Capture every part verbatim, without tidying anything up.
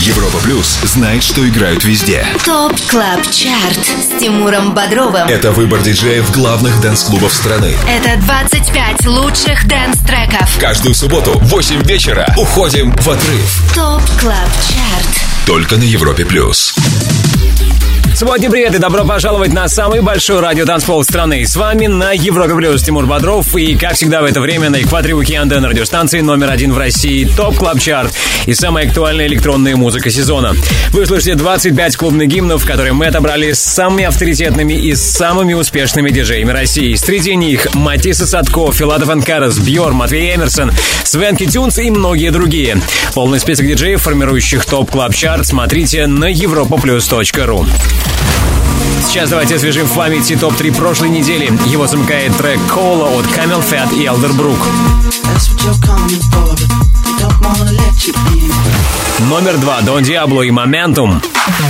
Европа Плюс знает, что играют везде. ТОП Клаб Чарт с Тимуром Бодровым. Это выбор диджеев главных дэнс-клубов страны. Это двадцать пять лучших дэнс-треков. Каждую субботу в восемь вечера уходим в отрыв. ТОП Клаб Чарт. Только на Европе Плюс. Субботний привет и добро пожаловать на самый большой радиотанцпол страны. С вами на Европе Плюс Тимур Бодров. И, как всегда, в это время на экваторе уикенда на радиостанции номер один в России ТОП Клаб Чарт и самая актуальная электронная музыка сезона. Вы слышите двадцать пять клубных гимнов, которые мы отобрали с самыми авторитетными и самыми успешными диджеями России. Среди них Матисса Садко, Филатов энд Карас, Бьор, Матвей Эмерсон, Свенки Тюнс и многие другие. Полный список диджеев, формирующих ТОП Клаб Чарт, смотрите на европа плюс точка ру. Сейчас давайте освежим в памяти топ три прошлой недели. Его замыкает трек «Кола» от Camel Fat и Elderbrook. Номер два Дон Диабло и «Momentum».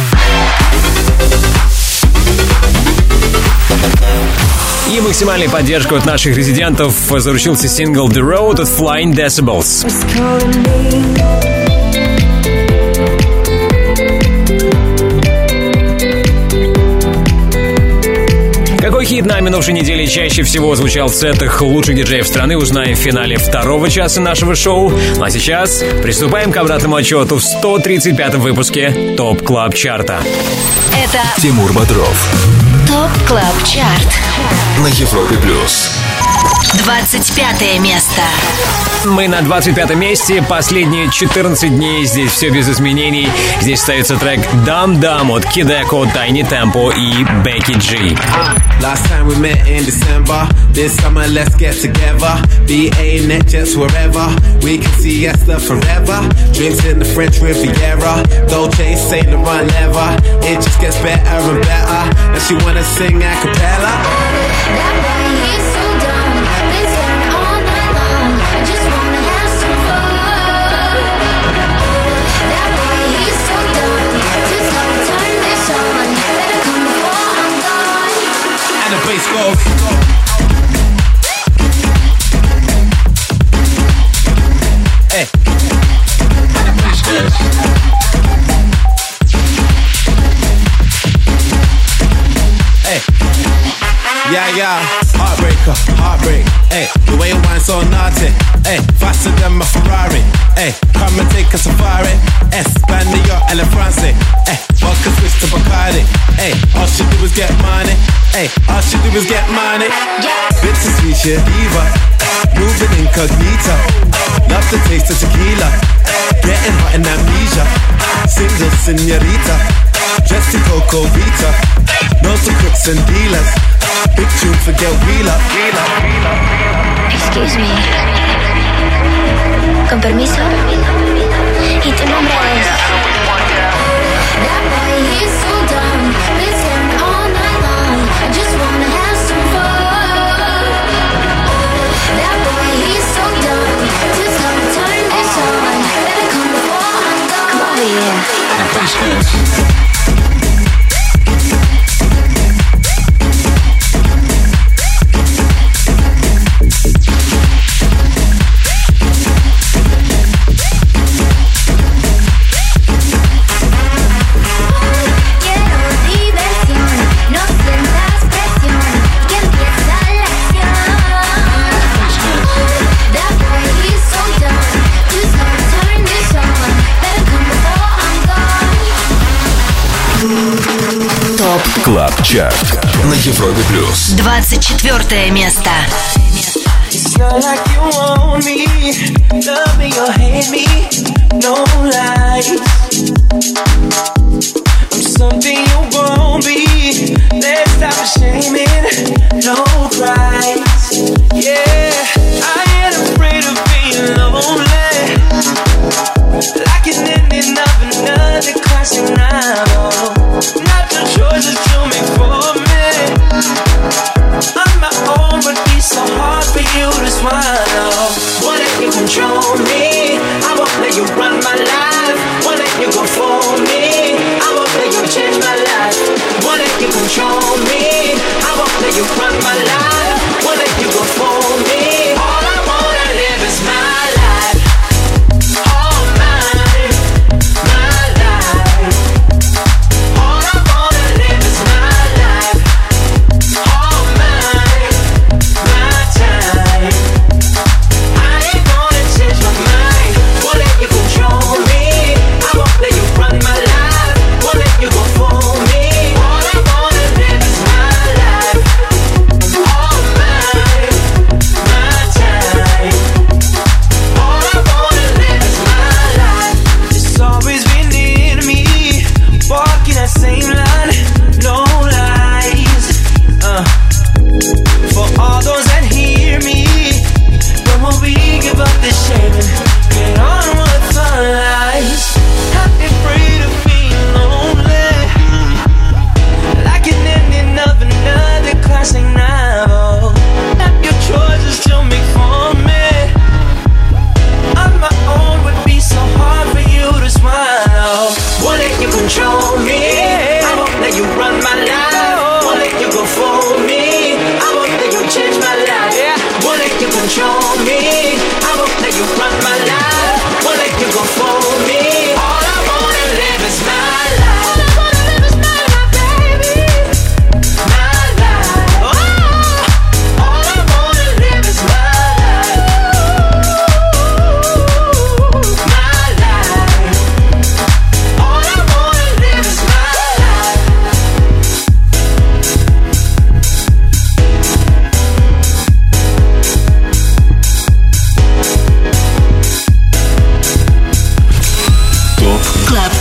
И максимальной поддержкой от наших резидентов заручился сингл «The Road» от Flying Decibels. Какой хит на минувшей неделе чаще всего звучал в сетах лучших диджеев страны, узнаем в финале второго часа нашего шоу. Ну а сейчас приступаем к обратному отчету в сто тридцать пятом выпуске ТОП Клаб Чарта. Это Тимур Бодров. ТОП Клаб Чарт На Европе Плюс. двадцать пятое место. Мы на двадцать пятом месте. Последние четырнадцать дней здесь все без изменений. Здесь остается трек «Dam Dam» от Kid Echo, Tiny Tempo и Becky G. Last time we met in December. This summer let's get together. B A net jets wherever. We can see Esther forever. Drinks in the French Riviera. Dolce, Saint Laurent leather. It just gets better and better. And she wanna sing a cappella. That boy, he's so dumb. Been staring all night long. I just wanna have some fun. That boy, he's so dumb. Just gonna turn this on. Better come before I'm gone. And the bass goes. Hey. And the bass goes. Hey. Yeah, yeah, heartbreaker, heartbreak. Hey, the way you whine so naughty. Hey, faster than my Ferrari. Hey, come and take a safari. Espanol, and France. Hey, vodka switch to Bacardi. Hey, all she do is get money. Hey, all she do is get money. Bittersweet shit, diva. Moving incognito. Love the taste of tequila. Getting hot in amnesia. Single señorita. Dressed in Coco Vita. Knows the crooks and dealers. Big tune, forget wheeler. Excuse me. Con permiso. ¿Y tu nombre es? That boy, he's so dumb. Been staring all night long. I just wanna have some fun. That boy, he's so dumb. Just gonna turn this on. Better come before I'm gone. Come over here. Клаб Чарт на Европе Плюс. двадцать четвертое место. It's not like you want me, love me or hate me, no lies. I'm something you won't be, let's stop shaming, no cries. Yeah, I ain't afraid of being lonely, like an ending of another classic novel. Not the choices you make for me. On my own, but it's so hard for you to swallow. Won't let you control me, I won't let you run my life.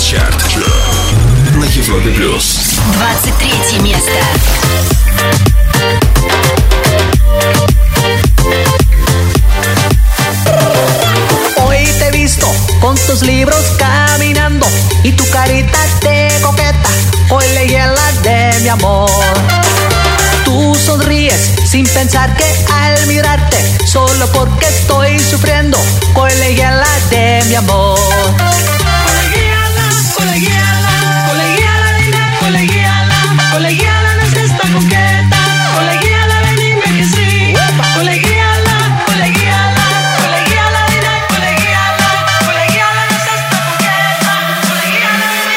Чарт на Европе плюс. двадцать третье место. Hoy te he visto con tus libros caminando y tu carita de coqueta hoy le hiela de mi amor. Tú sonríes sin pensar que al mirarte solo porque estoy sufriendo hoy le hiela de mi amor. Colegiala, colegiala, colegiala, dime colegiala, colegiala no es esta coqueta, colegiala ven dime que sí, colegiala, colegiala, colegiala dime colegiala, colegiala no es esta coqueta, colegiala ven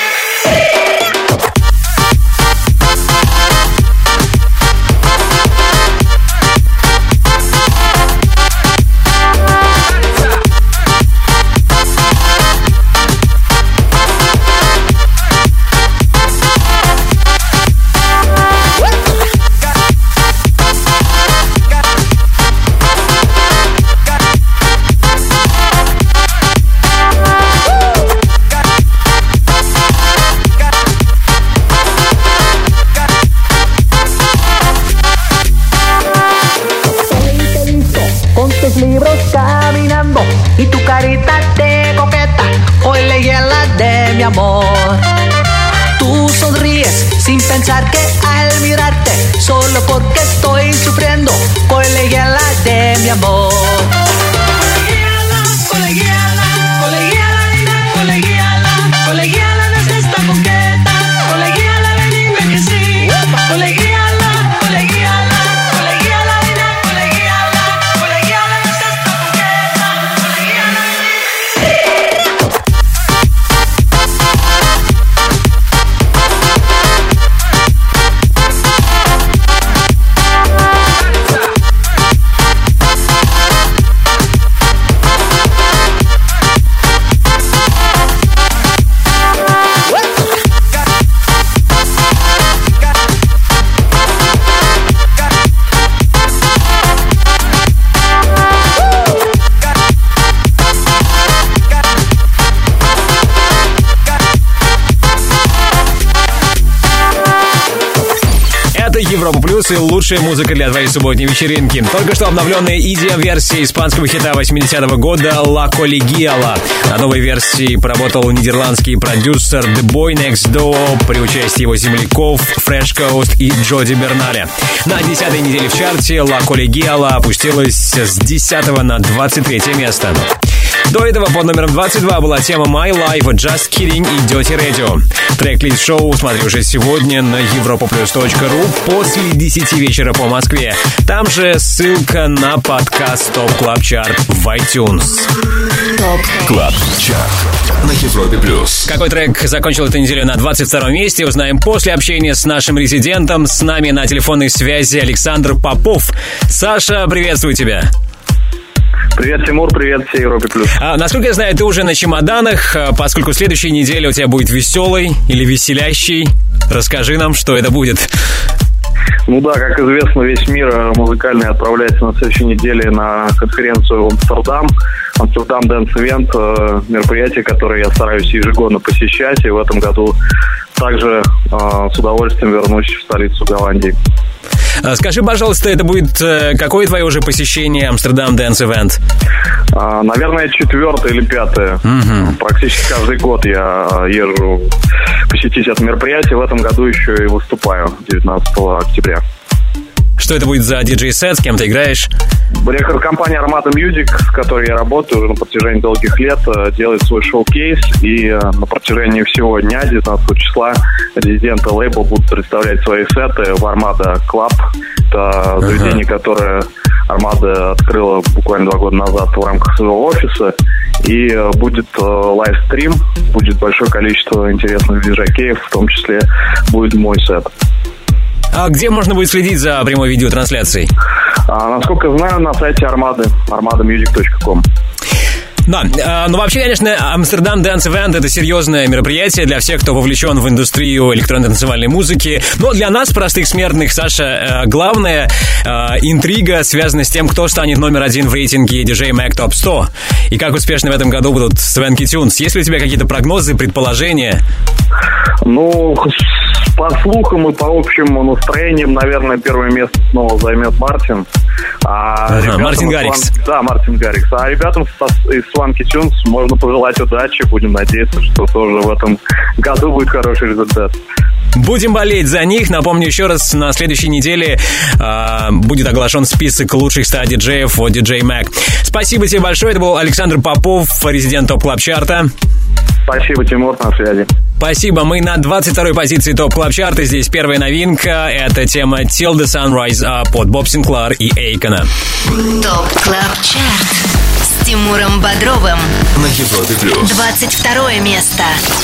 libros caminando y tu carita de coqueta hoy le hiela de mi amor. Tú sonríes sin pensar que al mirarte solo porque estoy sufriendo hoy le hiela de mi amor. Colegiala, colegiala, colegiala, dime colegiala, colegiala no es esta coqueta, colegiala ven dime que sí, colegiala, colegiala, colegiala dime colegiala, colegiala no es esta coqueta, colegiala ven Европа Плюс и лучшая музыка для твоей субботней вечеринки. Только что обновленная и ди эм-версия испанского хита восьмидесятого года «La Colegiala». На новой версии поработал нидерландский продюсер The Boy Next Door при участии его земляков Fresh Coast и Джоди Берналя. На десятой неделе в чарте «La Colegiala» опустилась с десятого на двадцать третье место. До этого под номером двадцать два была тема My Life, Just Kidding и Dirty Radio. Трек-лист шоу смотри уже сегодня на европа плюс точка ру после десяти вечера по Москве. Там же ссылка на подкаст Топ Клаб Чарт в iTunes. Топ Клаб Чарт на Европе плюс. Какой трек закончил эту неделю на двадцать втором месте, узнаем после общения с нашим резидентом. С нами на телефонной связи Александр Попов. Саша, приветствую тебя. Привет, Тимур, привет всей Европе плюс. А, насколько я знаю, ты уже на чемоданах, поскольку следующая неделя у тебя будет веселой или веселящей. Расскажи нам, что это будет. Ну да, как известно, весь мир музыкальный отправляется на следующей неделе на конференцию в Амстердам. Амстердам Dance Event, мероприятие, которое я стараюсь ежегодно посещать. И в этом году также с удовольствием вернусь в столицу Голландии. Скажи, пожалуйста, это будет какое твое уже посещение Амстердам Dance Event? А, наверное, четвертое или пятое. Угу. Практически каждый год я езжу посетить это мероприятие. В этом году еще и выступаю девятнадцатого октября. Что это будет за диджей-сет, с кем ты играешь? Рекорд-компания Armada Music, с которой я работаю уже на протяжении долгих лет, делает свой шоу-кейс. И на протяжении всего дня, девятнадцатого числа, резиденты лейбла будут представлять свои сеты в Armada Club. Это заведение, uh-huh. которое Armada открыла буквально два года назад в рамках своего офиса. И будет лайвстрим, будет большое количество интересных диджей-кейв, в том числе будет мой сет. А где можно будет следить за прямой видеотрансляцией? А, насколько знаю, на сайте Армады, армада мьюзик точка ком. Да, э, ну вообще, конечно, Амстердам Dance Event — это серьезное мероприятие для всех, кто вовлечен в индустрию электронной танцевальной музыки. Но для нас, простых смертных, Саша, э, главная э, интрига связана с тем, кто станет номер один в рейтинге ди джей Mag Top сто. И как успешно в этом году будут Swanky Tunes. Есть ли у тебя какие-то прогнозы, предположения? Ну, по слухам и по общему настроениям, наверное, первое место снова займет Мартин. А ага, Мартин Гаррикс. Сван... Да, Мартин Гаррикс. А ребятам из Swanky Tunes можно пожелать удачи. Будем надеяться, что тоже в этом году будет хороший результат. Будем болеть за них. Напомню еще раз, на следующей неделе э, будет оглашен список лучших ста диджеев от ди джей Mag. Спасибо тебе большое. Это был Александр Попов, резидент ТОП Клаб Чарта. Спасибо, Тимур, на связи. Спасибо. Мы на двадцать второй позиции ТОП Клаб Чарта. Здесь первая новинка. Это тема Till the Sun Rise Up от Боб Синклар и Эйкона. ТОП Клаб Чарт с Тимуром Бодровым на Европе Плюс. двадцать второе место.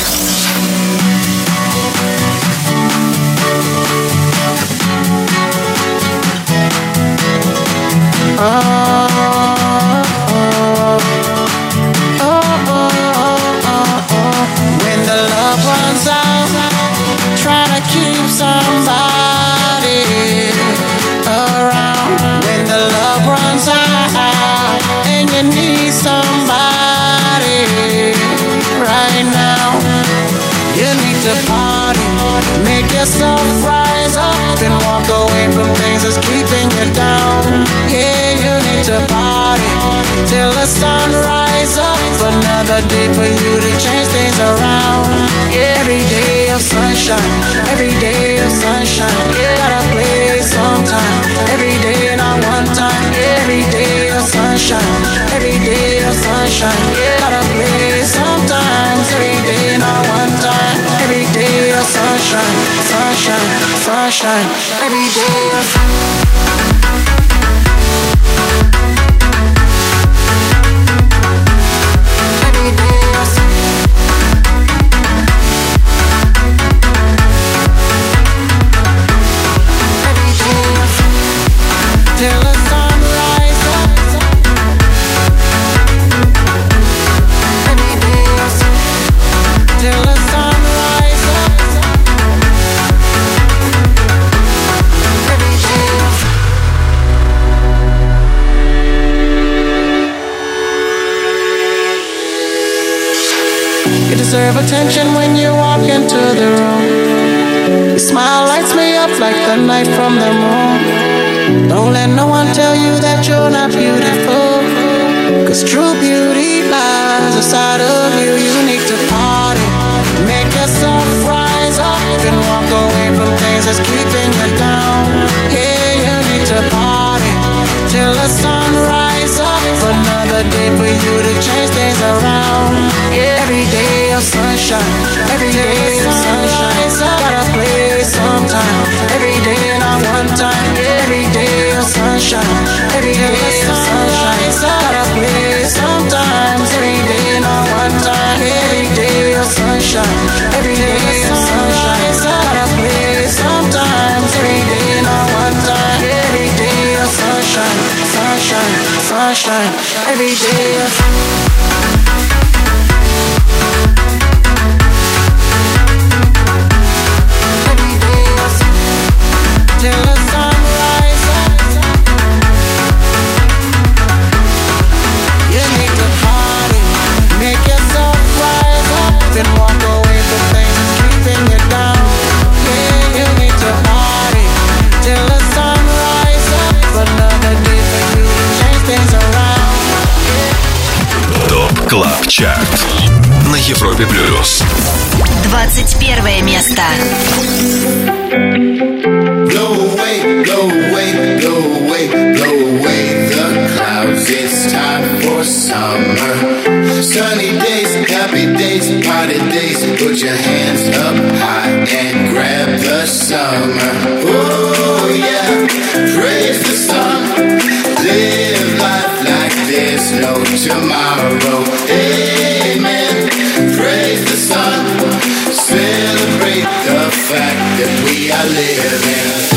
Yourself rise up and walk away from things that's keeping you down. Yeah, you need to party till the sun rise up. Another day for you to change things around. Yeah, every day of sunshine, every day of sunshine. Yeah, gotta play sometime, every day not one time. Yeah, every day of sunshine, every day of sunshine. Yeah, gotta play sometimes, every day not one time. Every day of sunshine, sunshine, sunshine. Every day of sunshine. Deserve attention when you walk into the room. Your smile lights me up like the night from the moon. Don't let no one tell you that you're not beautiful, cause true beauty lies inside of you. You need to party, make yourself rise up and walk away from things that's keeping you down. Yeah, you need to party till the sun rise up. Another day for you to change things around. Yeah, every day of sunshine, every day of sunshine. Gotta play sometime, every day not one time. Yeah, every day of sunshine, every day of sunshine. Gotta play sometimes, every day not one time. Every day of sunshine, every day of sunshine. Gotta play sometimes, every day not one time. Every day of sunshine, sunshine, sunshine. Every day of sunshine. Клаб Чарт на Европе Плюс. двадцать первое место. Blow away, blow away, blow away, blow away the clouds. It's time for summer. Sunny days, happy days, party days. Put your hands up high and grab the summer. Oh yeah, praise the sun. Live life like there's no tomorrow. Amen. Praise the sun. Celebrate the fact that we are living.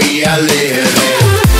way I live it.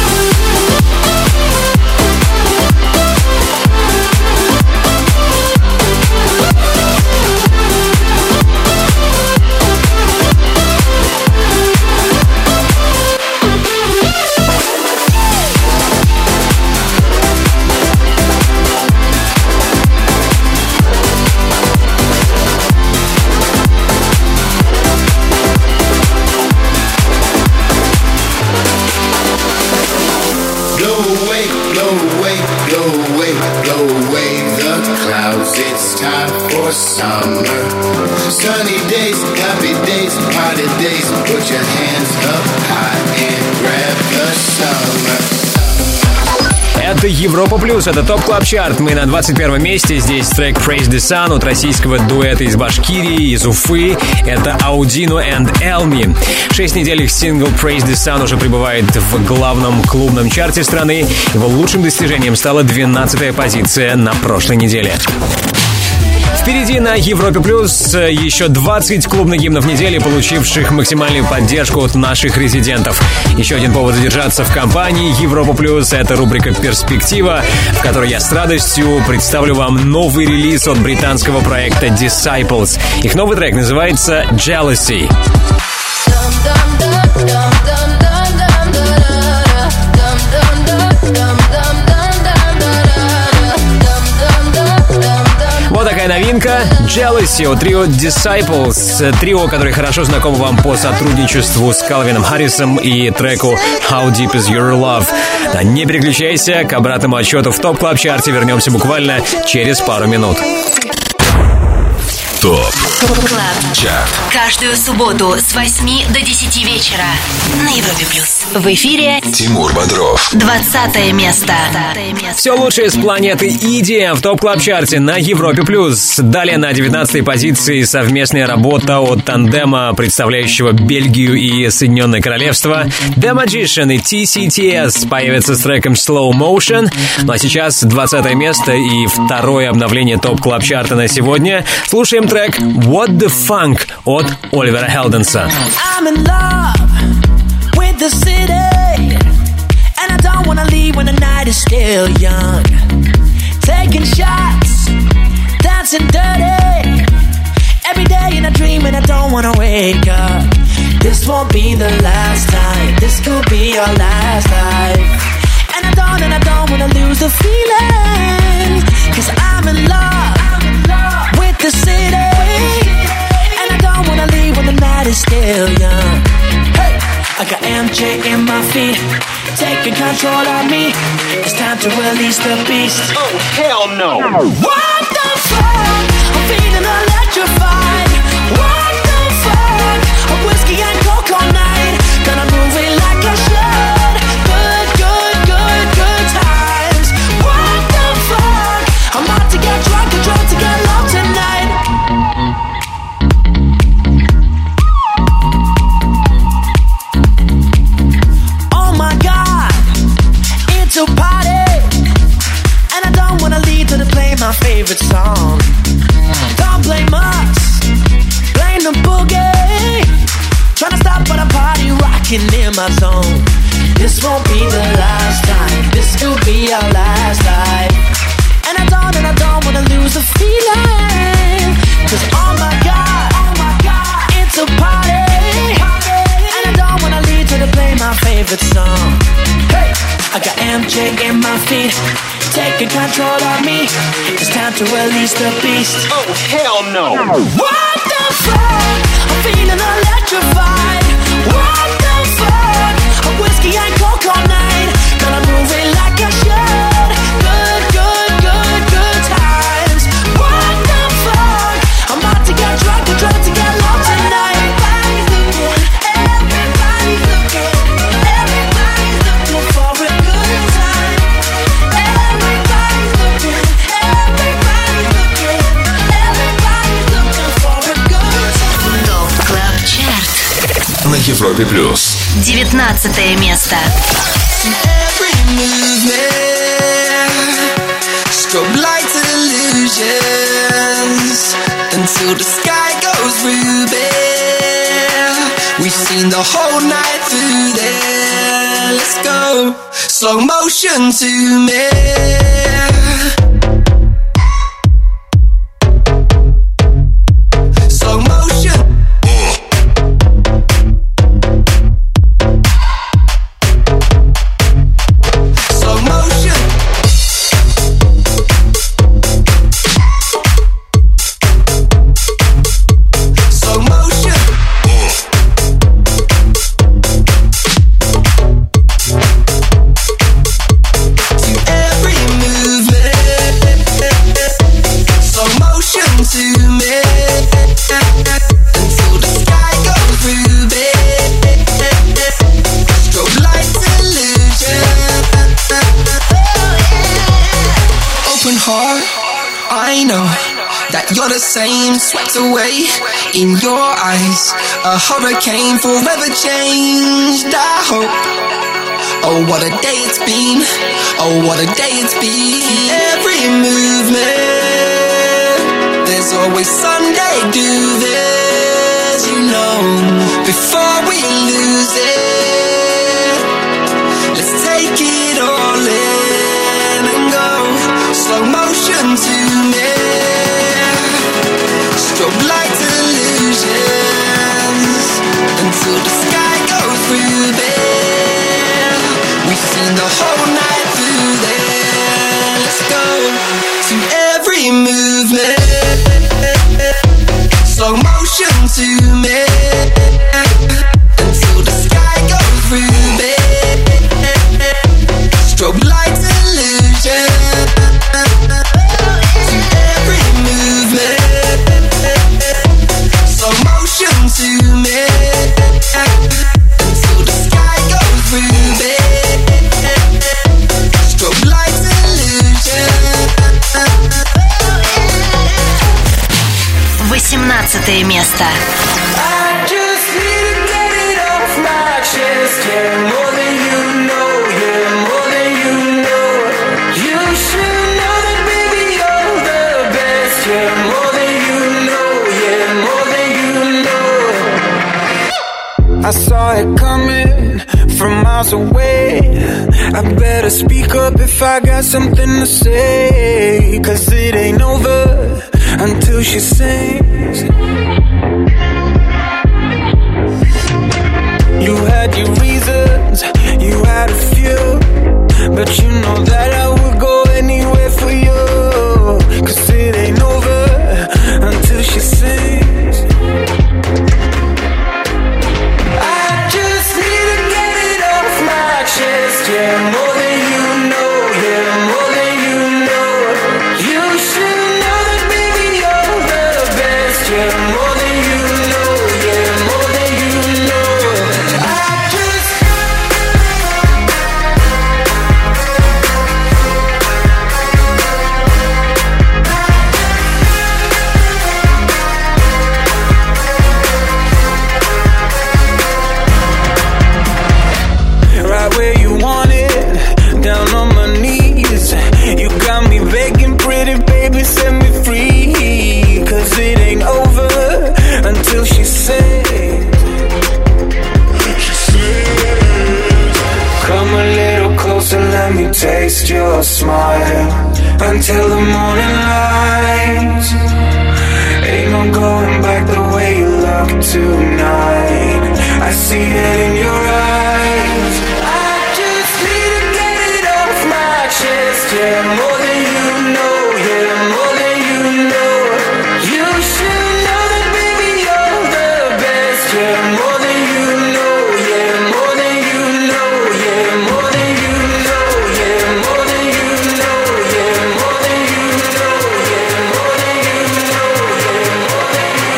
It's time for summer. Sunny days, happy days, party days. Put your hands up high and grab the summer. Это Европа Плюс, это ТОП Клаб Чарт. Мы на двадцать первом месте. Здесь трек Praise the Sun от российского дуэта из Башкирии, из Уфы. Это Audino and Elmi. Шесть недель их сингл Praise the Sun уже пребывает в главном клубном чарте страны. Его лучшим достижением стала двенадцатая позиция на прошлой неделе. Впереди на Европе Плюс еще двадцать клубных гимнов недели, получивших максимальную поддержку от наших резидентов. Еще один повод задержаться в компании Европа Плюс — это рубрика «Перспектива», в которой я с радостью представлю вам новый релиз от британского проекта Disciples. Их новый трек называется «Jealousy». Вот такая новинка «Jealousy» от трио Disciples. Трио, которое хорошо знакомо вам по сотрудничеству с Калвином Харрисом и треку «How Deep Is Your Love». Да, не переключайся, к обратному отсчету в ТОП Клаб Чарте вернемся буквально через пару минут. ТОП Клаб Чарт. Каждую субботу с восьми до десяти вечера на Европе Плюс. В эфире Тимур Бодров. Двадцатое место. Все лучшее с планеты и ди эм в ТОП Клаб Чарте на Европе Плюс. Далее на девятнадцатой позиции совместная работа от тандема, представляющего Бельгию и Соединенное Королевство. The Magician и ти си ти эс появятся с треком Slow Motion. Ну а сейчас двадцатое место и второе обновление ТОП Клаб Чарта на сегодня. Слушаем трек What the Funk от Оливера Хелденса. I'm in love with the city, and I don't wanna leave when the night is still young. Taking shots, dancing dirty, every day in a dream and I don't wanna wake up. This won't be the last time, this could be our last life. And I don't, and I don't wanna lose the feeling, cause I'm in love with the city, and I don't wanna leave when the night is still young. Hey, I got M J in my feet, taking control of me. It's time to release the beast. Oh, hell no. What the fuck? I'm feeling electrified. What the fuck? A whiskey and coke all night. Gonna move it like I should. Good, good, good, good times. What the fuck? I'm about to get drunk and drunk to get low tonight. Oh my God, it's a party, and I don't wanna leave till they play my favorite song. Don't blame us, blame the boogie. Tryna stop but I'm party rocking in my zone. This won't be the last time, this could be our last night. And I don't, and I don't wanna lose the feeling, cause oh my God, oh my God, it's a party, and I don't wanna leave till they play my favorite song. Hey, I got M J in my feet, taking control of me. It's time to release the beast. Oh hell no. What the fuck? I'm feeling electrified. What the fuck? A whiskey and coke all night. Gonna move it like I should. Good, good, good, good times. What the fuck? I'm about to get drunk and drunk to get low tonight. Everybody's looking, everybody's looking, everybody's looking for a good time. Everybody's looking, everybody's looking, everybody's looking for a good time. ТОП Клаб Чарт. На Европе Плюс. Девятнадцатое место. Every movement, strobe lights illusions, until the sky goes ruby. We've seen the whole night through there. let's go. Slow motion to me. Slow motion. Slow motion. Slow motion. To every movement. Slow motion to me. Until the sky goes ruby. Strobe light illusion. Open heart, I know that you're the same, swept away in your eyes. A hurricane forever changed, I hope. Oh, what a day it's been. Oh, what a day it's been. Every movement, there's always Sunday, do this, you know. Before we lose it, let's take it all in and go. Slow motion to me. Strobe light illusions. Until the sky goes ruby. We've seen the whole night through there. Let's go to every movement. Slow motion to me. Until the sky goes ruby. Strobe light illusion. To every movement. Slow motion to me. Until the sky goes ruby. Strobe light illusion. восемнадцатое место. I just need to get it off my chest. Yeah, more than you know. Yeah, more than you know. You should know that, baby, you're the best. Yeah, more than you know. Yeah, more than you know. I saw it coming from miles away. I better speak up if I got something to say. Cause it ain't over until she sings. You had your reasons, you had a few, but you know that I would go anywhere for you. Cause it ain't over until she sings. I just need to get it off my chest. Yeah, more than you know. Yeah, more than you know. You should know that, baby, you're the best. Yeah, more than you know. Yeah, more than you know. I just right where you want it, down on my knees. You got me begging, pretty baby, set me free. Cause it ain't over until she sings. Come a little closer, let me taste your smile. Until the morning light. Ain't no going back the way you look tonight. I see it in your eyes. I just need to get it off my chest. Yeah, more than you know. Yeah, more than you know. You should know that, baby, you're the best. Yeah, more than you know. Yeah, more than you know. Yeah, more than you know. Yeah, more than you know. Yeah, more than you know. Yeah, more than you know. Yeah, more than you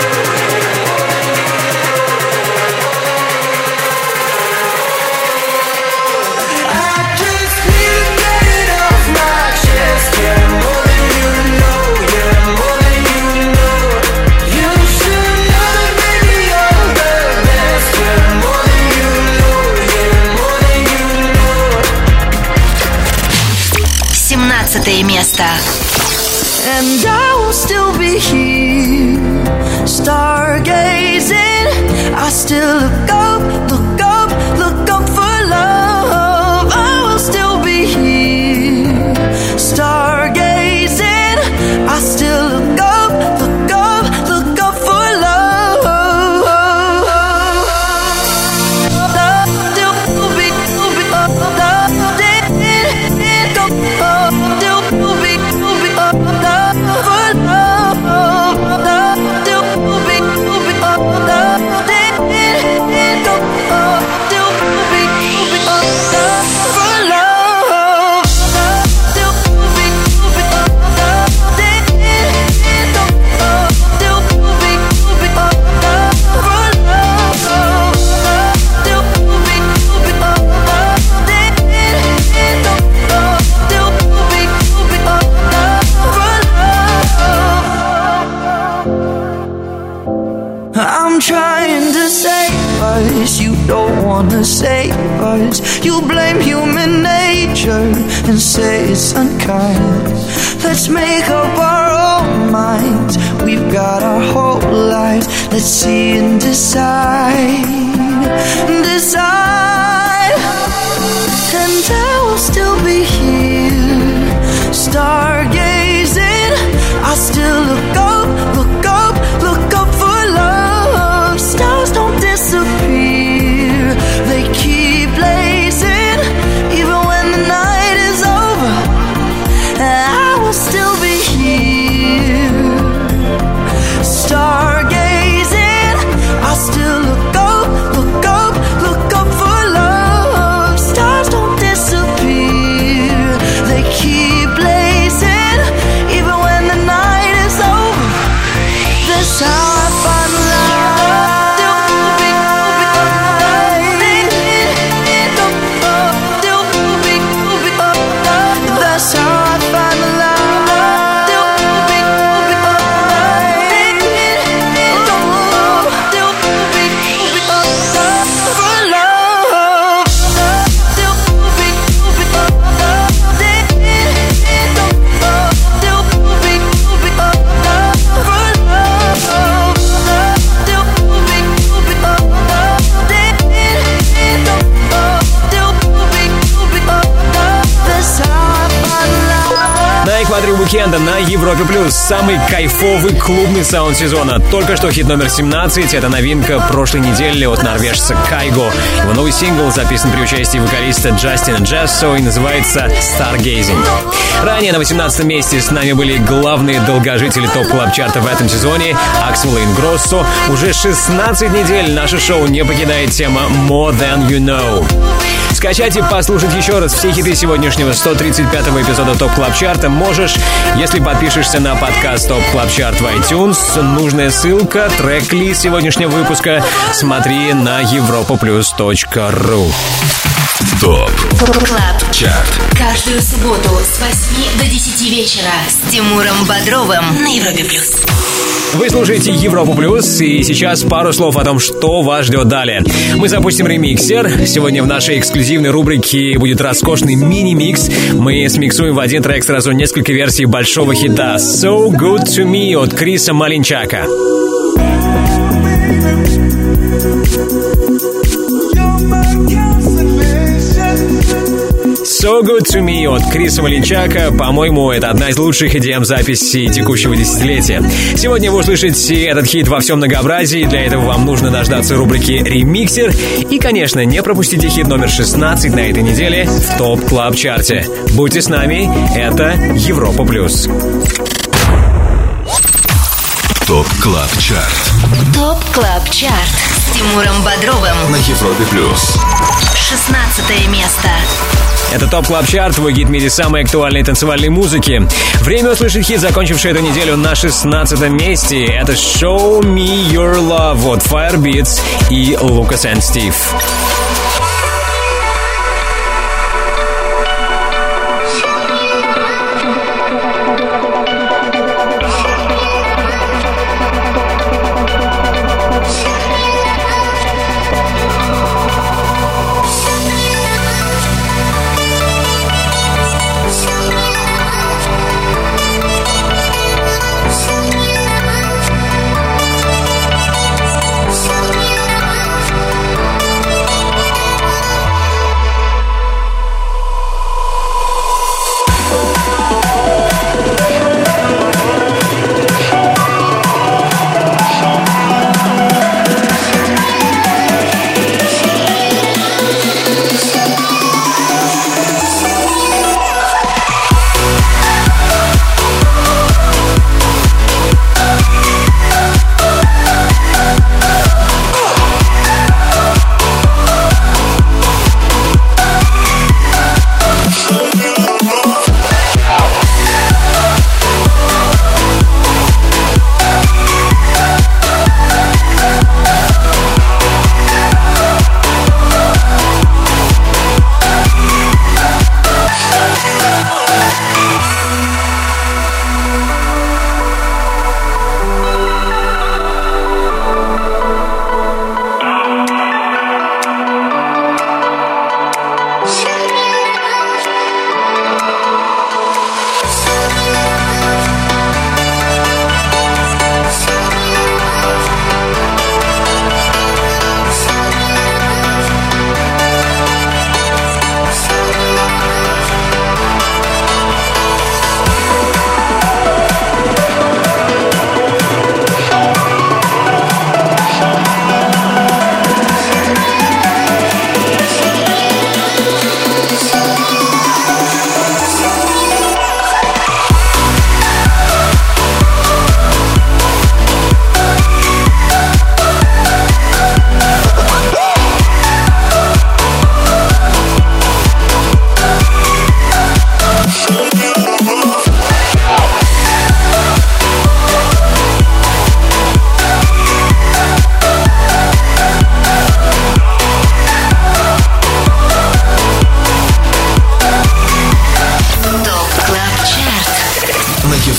know. I just need to get it off my chest. Yeah, more than you know. Yeah, more than you know. You should know that, baby, you're the best. Yeah, more than you know. Yeah, more than you know. семнадцатое место. And I will still be here, stargazing. I still look up, look up, look up for love. was. You blame human nature and say it's unkind. Let's make up our own minds. We've got our whole lives. Let's see and decide. Decide. And I will still be here, stargazing. I still look up, look up, look up for love. Stars don't disappear, they keep blazing. Even when the night is over, I will still be here, stargazing. I still look up, look up, look up for love. Stars don't disappear, they keep blazing. Even when the night is over, that's how I find love. That's how I find Уикенда на Европе Плюс. Самый кайфовый клубный саунд сезона. Только что хит номер семнадцать. Это новинка прошлой недели от норвежца Кайго. Его новый сингл записан при участии вокалиста Джастина Джессо и называется Stargazing. Ранее на восемнадцатом месте с нами были главные долгожители топ-клаб-чарта в этом сезоне Аксел и Ингроссо. Уже шестнадцать недель наше шоу не покидает тема More Than You Know. Скачать и послушать еще раз все хиты сегодняшнего сто тридцать пятого эпизода ТОП Клаб Чарта можешь, если подпишешься на подкаст ТОП Клаб Чарт в iTunes. Нужная ссылка, трек-лист сегодняшнего выпуска смотри на европа плюс точка ру. ТОП Клаб Чарт. Каждую субботу с восьми до десяти вечера с Тимуром Бодровым на Европе Плюс. Вы слушаете Европу Плюс, и сейчас пару слов о том, что вас ждет далее. Мы запустим ремиксер. Сегодня в нашей эксклюзивной рубрике будет роскошный мини-микс. Мы смиксуем в один трек сразу несколько версий большого хита «So Good To Me» от Криса Малинчака. So Good To Me от Криса Малинчака. По-моему, это одна из лучших и ди эм-записей текущего десятилетия. Сегодня вы услышите этот хит во всем многообразии. Для этого вам нужно дождаться рубрики «Ремиксер». И, конечно, не пропустите хит номер шестнадцать на этой неделе в ТОП Клаб Чарте. Будьте с нами, это Европа Плюс. ТОП Клаб Чарт. ТОП Клаб Чарт с Тимуром Бодровым На Европе Плюс. шестнадцатое место. Это ТОП Клаб Чарт, твой гид в мире самой актуальной танцевальной музыки. Время услышать хит, закончивший эту неделю на шестнадцатом месте. Это «Show Me Your Love» от Firebeats и Lucas and Steve.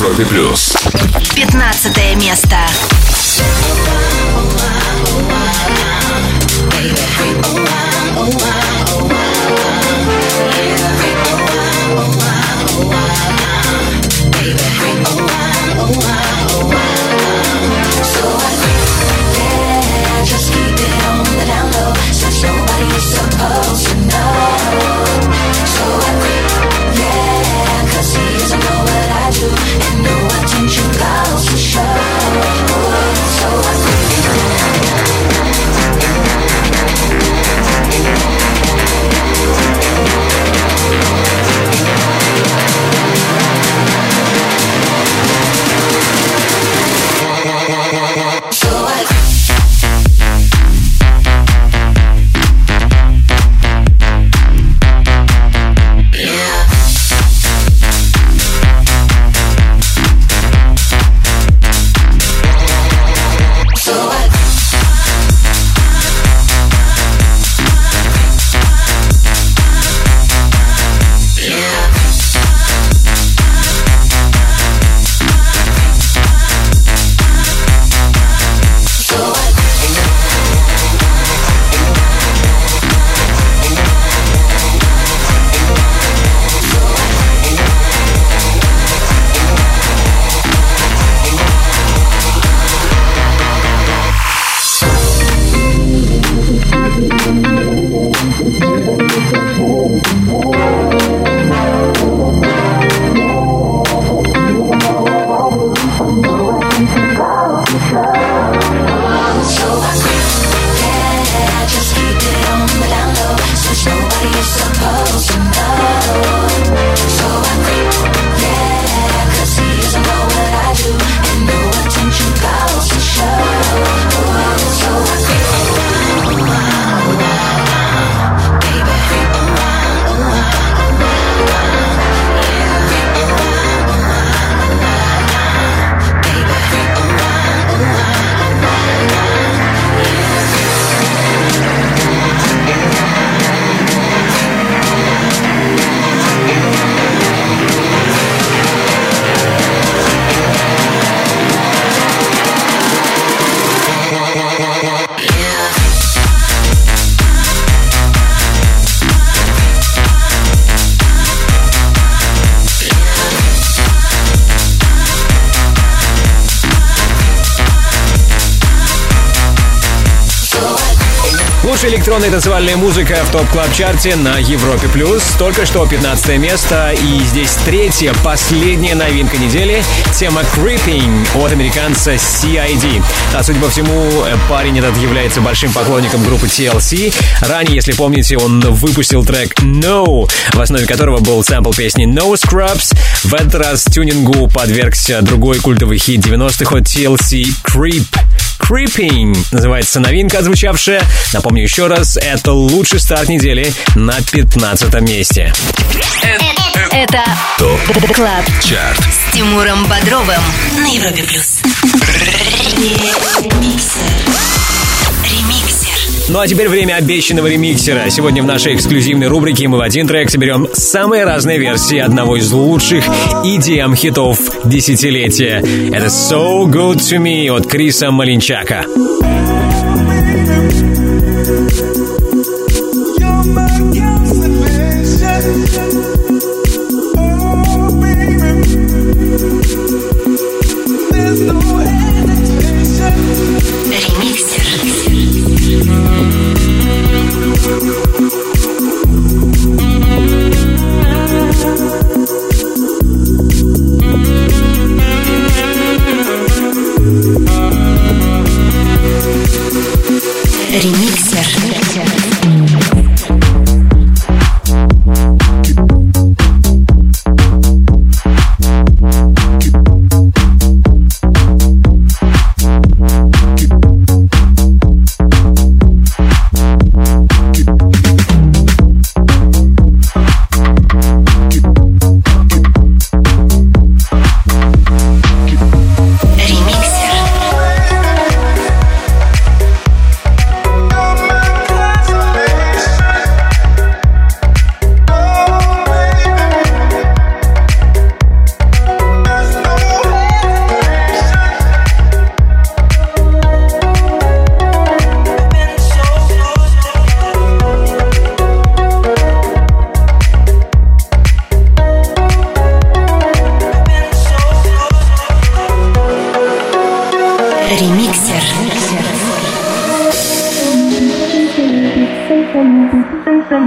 Европе плюс. пятнадцатое место. Supposed to know, so I quit, yeah, 'cause he doesn't know what I do, and no attention goes to show, so I quit. So I quit. Лучшая электронная танцевальная музыка в топ-клаб-чарте на Европе+. плюс. Только что пятнадцатое место. И здесь третья, последняя новинка недели. Тема Creeping от американца си ай ди. А судя по всему, парень этот является большим поклонником группы ти эл си. Ранее, если помните, он выпустил трек No, в основе которого был сэмпл песни No Scrubs. В этот раз тюнингу подвергся другой культовый хит девяностых от ти эл си Creep. Creeping называется новинка, отзвучавшая. Напомню еще раз, это лучший старт недели на пятнадцатом месте. Это ТОП Клаб Чарт с Тимуром Бодровым на Европе плюс. Ремиксер. Ну а теперь время обещанного ремиксера. Сегодня в нашей эксклюзивной рубрике мы в один трек соберем самые разные версии одного из лучших и ди эм-хитов десятилетия. Это So Good To Me от Криса Малинчака.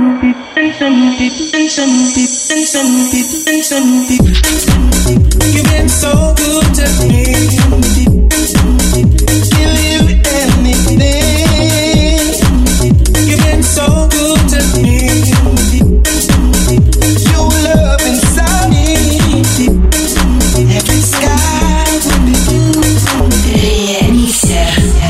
You've been so good to me. Give you anything. You've been so good to me. Your love inside me. Every sky will be blue. Remixer.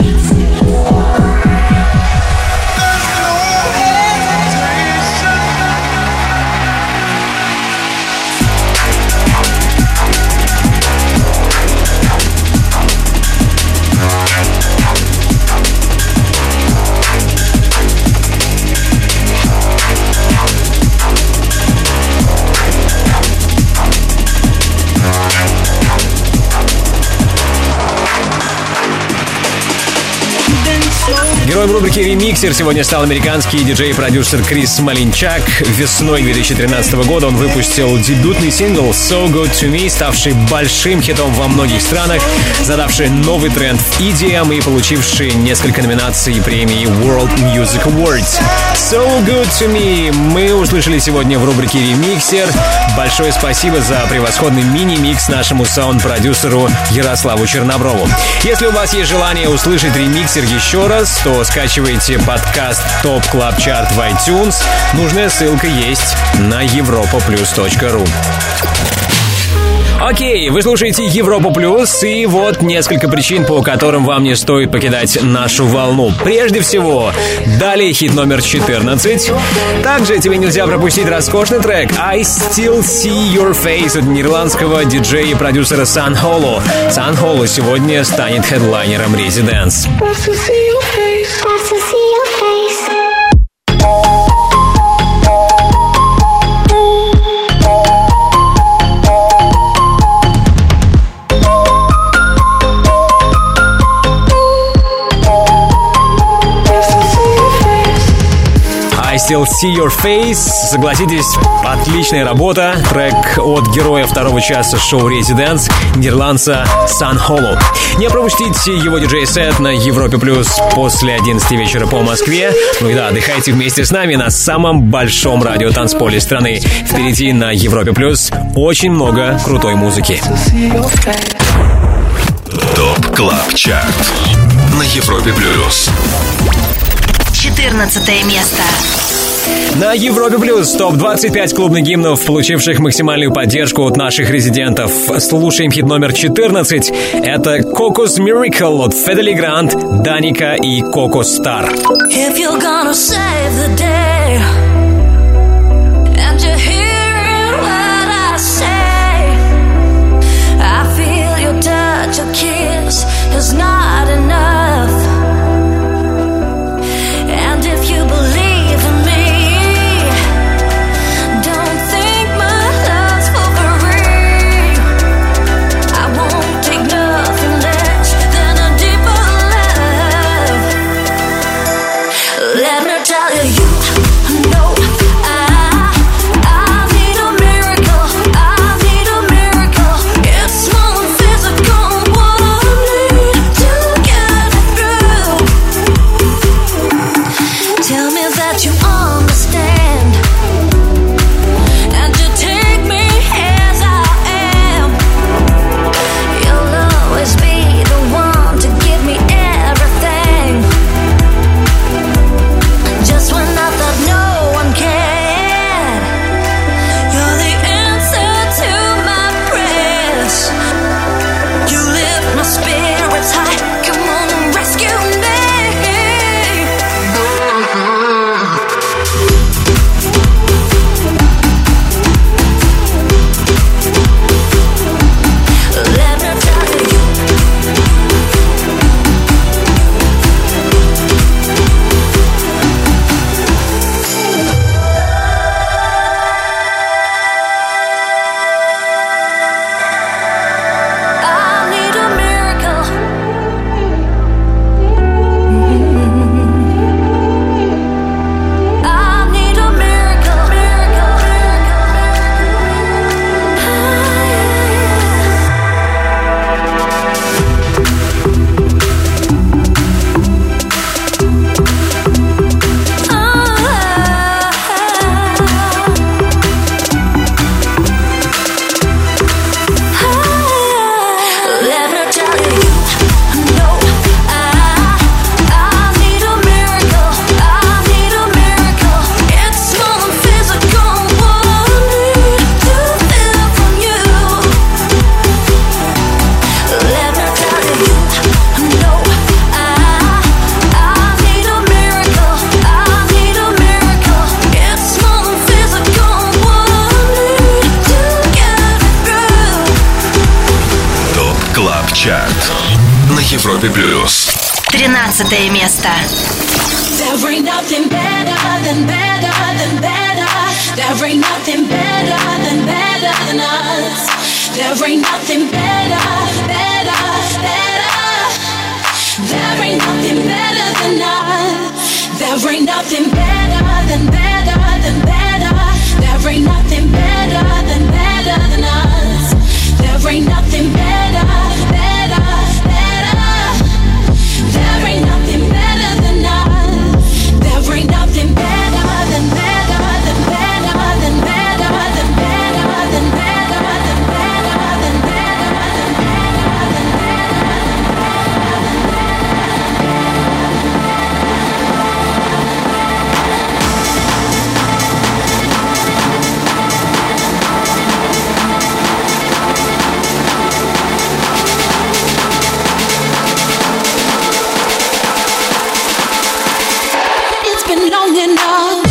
Героем рубрики «Ремиксер» сегодня стал американский диджей и продюсер Крис Малинчак. Весной две тысячи тринадцатого года он выпустил дебютный сингл «So Good To Me», ставший большим хитом во многих странах, задавший новый тренд в и ди эм и получивший несколько номинаций премии World Music Awards. «So Good To Me» мы услышали сегодня в рубрике «Ремиксер». Большое спасибо за превосходный мини-микс нашему саунд-продюсеру Ярославу Черноброву. Если у вас есть желание услышать ремиксер еще раз, то скачивайте подкаст Top Club Chart в iTunes. Нужная ссылка есть на европа плюс точка ру. Окей, вы слушаете Европа Плюс, и вот несколько причин, по которым вам не стоит покидать нашу волну. Прежде всего, далее хит номер четырнадцать. Также тебе нельзя пропустить роскошный трек I Still See Your Face от нидерландского диджея и продюсера Sun Holo. Sun Holo сегодня станет хедлайнером Residence. I Still See Your Face. Согласитесь, отличная работа. Трек от героя второго часа шоу Residence, нидерландца Sun Holo. Не пропустите его диджей-сет на Европе Плюс после одиннадцати вечера по Москве. Ну и да, отдыхайте вместе с нами на самом большом радиотанцполе страны. Впереди на Европе Плюс очень много крутой музыки. Топ Клаб Чарт на Европе Плюс. четырнадцатое место. На Европе Плюс топ двадцать пять клубных гимнов, получивших максимальную поддержку от наших резидентов. Слушаем хит номер четырнадцать. Это Coco's Miracle от Федели Грант, Даника и Коко Стар. If you're gonna save the day and you're hearing what I say, I feel your touch, your kiss is not enough. And if you believe in me, don't think my love's for free. I won't take nothing less than a deeper love. Let me tell you, you know Европе плюс. Тринадцатое место. There ain't nothing better than better than better. There ain't nothing better than better than us. There ain't nothing better, better, better. There ain't nothing better than us. There ain't nothing better than better than better. There ain't nothing better than better than us. There ain't nothing better, better, better. There ain't nothing better than us. There ain't nothing better than better than better than better than better than better than better than It's been long enough.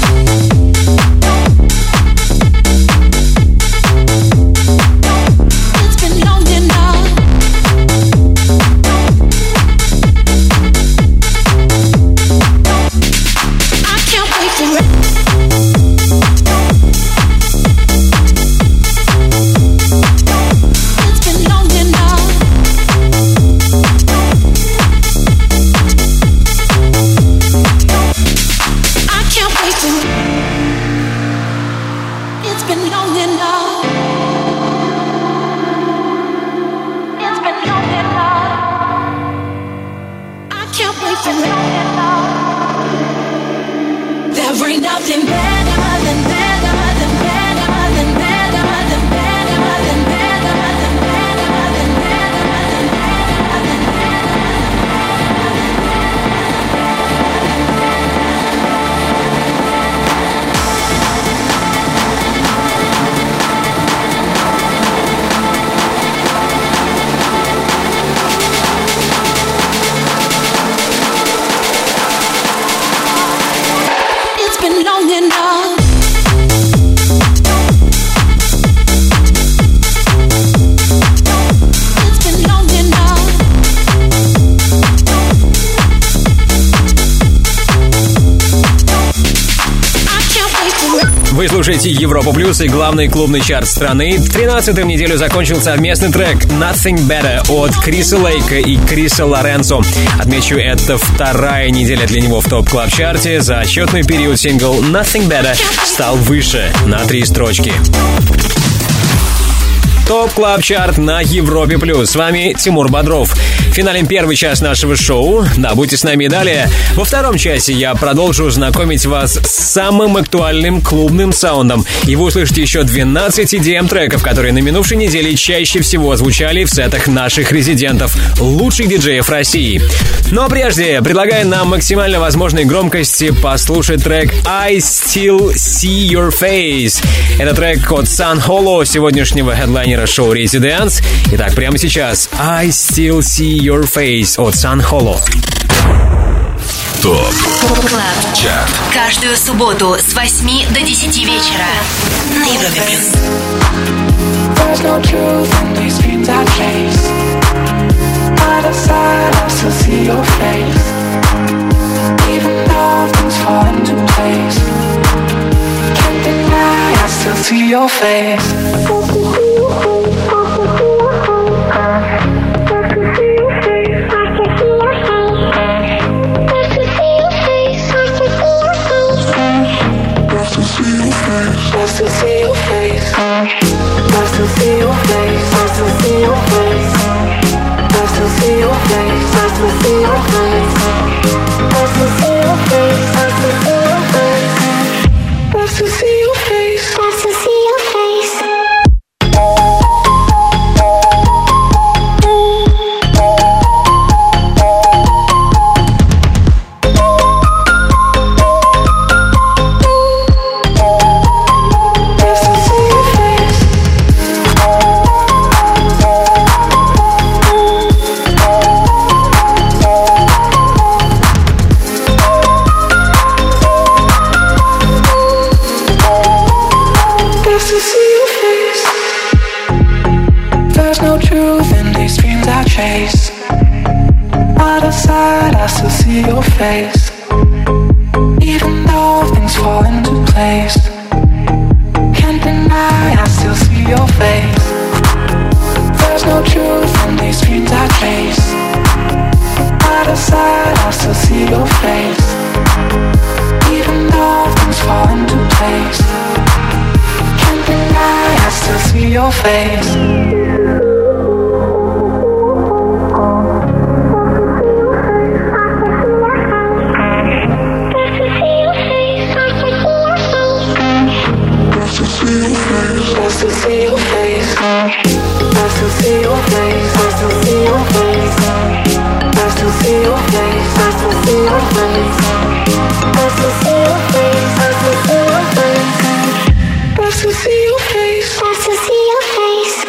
It's been long enough. I can't wait for it. It's been long enough. I can't wait for it. It's been long enough. It's been long enough. I can't wait for it. There ain't nothing better than better than better than better than better than better than better than better than It's been long enough. It's been long enough. I can't wait for it. Вы слушаете Европу Плюс и главный клубный чарт страны. тринадцатым неделю закончил совместный трек Nothing Better от Криса Лейка и Криса Лоренцо. Отмечу, это вторая неделя для него в топ-клаб-чарте. За отчетный период сингл Nothing Better стал выше на три строчки. ТОП Клаб Чарт на Европе Плюс. С вами Тимур Бодров. Финалем первый час нашего шоу. Да, будьте с нами и далее. Во втором часе я продолжу знакомить вас с самым актуальным клубным саундом. И вы услышите еще двенадцать и ди эм-треков, которые на минувшей неделе чаще всего звучали в сетах наших резидентов, лучших диджеев России. Но прежде предлагаю на максимально возможной громкости послушать трек I Still See Your Face. Это трек от Sun Holo, сегодняшнего хедлайнера шоу Residence. Итак, прямо сейчас I Still See Your Face от Sun Holo. ТОП Клаб Чарт. Каждую субботу с восьми до десяти вечера на Европе Плюс. There's no truth in these dreams I chase. Out of sight, I still see your face. Even though things fall into place, can't deny I still see your face. I still see your face. I still see your face. I still see your face. I still see your face. I still see your face. I still see your face. I still see your face. I still see your face. I still see your face. There's no truth in these dreams I chase. Out of sight, I still see your face. Even though things fall into place, can't deny, I still see your face. There's no truth in these dreams I chase. Out of sight, I still see your face. Even though things fall into place, can't deny, I still see your face. I still see your face. I still see your face. I still see your face. I still see your face. I still see your face. I still see your face. I still see your face. I still see your face. I still see your face.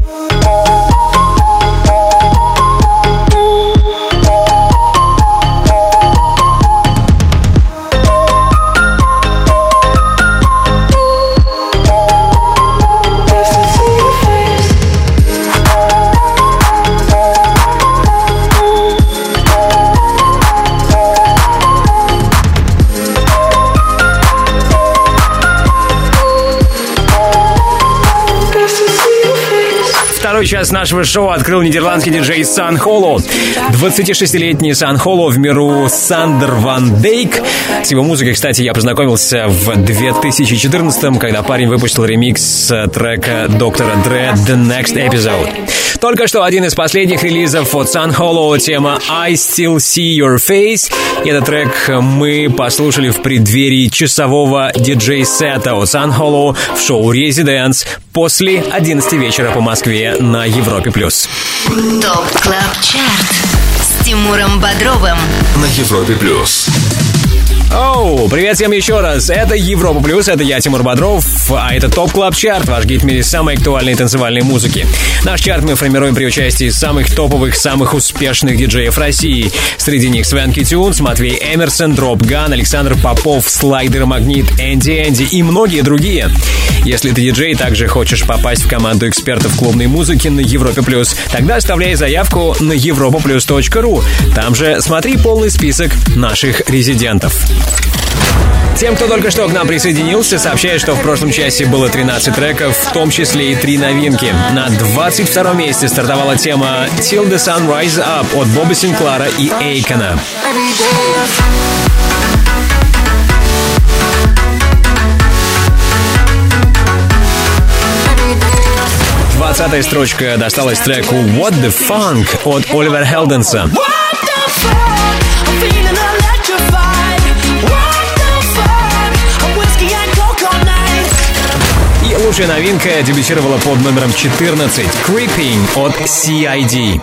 Второй час нашего шоу открыл нидерландский диджей Сан Холло. двадцатишестилетний Сан Холло в миру Сандер Ван Дейк. С его музыкой, кстати, я познакомился в две тысячи четырнадцатом, когда парень выпустил ремикс трека доктора Dre «The Next Episode». Только что один из последних релизов от Сан Холло, тема «I Still See Your Face». И этот трек мы послушали в преддверии часового диджей-сета от Сан Холло в шоу «Резиденс» после одиннадцати вечера по Москве на Европе+. плюс. ТОП Клаб Чарт с Тимуром Бодровым на Европе+. плюс. Оу, привет всем еще раз. Это Европа Плюс, это я, Тимур Бодров, а это ТОП Клаб Чарт, ваш гид в мире самой актуальной танцевальной музыки. Наш чарт мы формируем при участии самых топовых, самых успешных диджеев России. Среди них Свенки Тюнс, Матвей Эмерсон, Дроп Ган, Александр Попов, Слайдер Магнит, Энди Энди и многие другие. Если ты диджей и также хочешь попасть в команду экспертов клубной музыки на Европе Плюс, тогда оставляй заявку на европа плюс точка ру. Там же смотри полный список наших резидентов. Тем, кто только что к нам присоединился, сообщаю, что в прошлом часе было тринадцать треков, в том числе и три новинки. На двадцать втором месте стартовала тема «Till the Sun Rise Up» от Боба Синклара и Эйкона. двадцатая строчка досталась треку «What the Funk» от Оливера Хелденса. И лучшая новинка дебютировала под номером четырнадцать «Creeping» от си ай ди.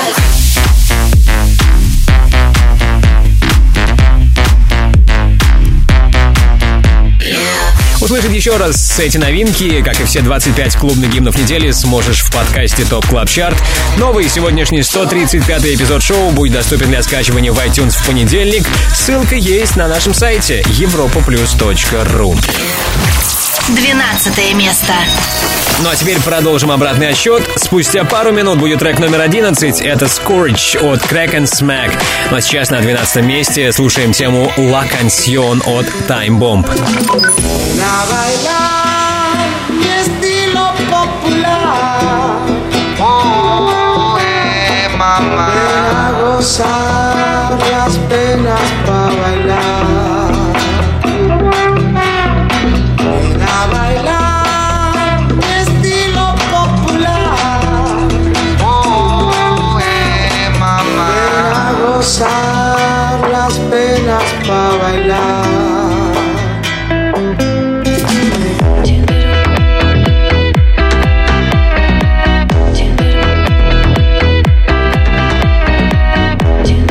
Услышать еще раз эти новинки, как и все двадцать пять клубных гимнов недели, сможешь в подкасте ТОП Клаб Чарт. Новый сегодняшний сто тридцать пятый эпизод шоу будет доступен для скачивания в iTunes в понедельник. Ссылка есть на нашем сайте европа плюс точка ру. двенадцатое место. Ну а теперь продолжим обратный отсчет. Спустя пару минут будет трек номер одиннадцать. Это Scourge от Crack and Smack. Ну а сейчас на двенадцатом месте слушаем тему La Canción от Time Bomb. A bailar mi estilo popular. Oh, eh, mamá. Ven a gozar las penas pa' bailar. Ven a bailar mi estilo popular. Oh, eh, mamá. Ven a gozar las penas pa' bailar. Thank you.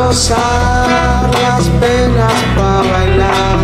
gozar las penas para bailar.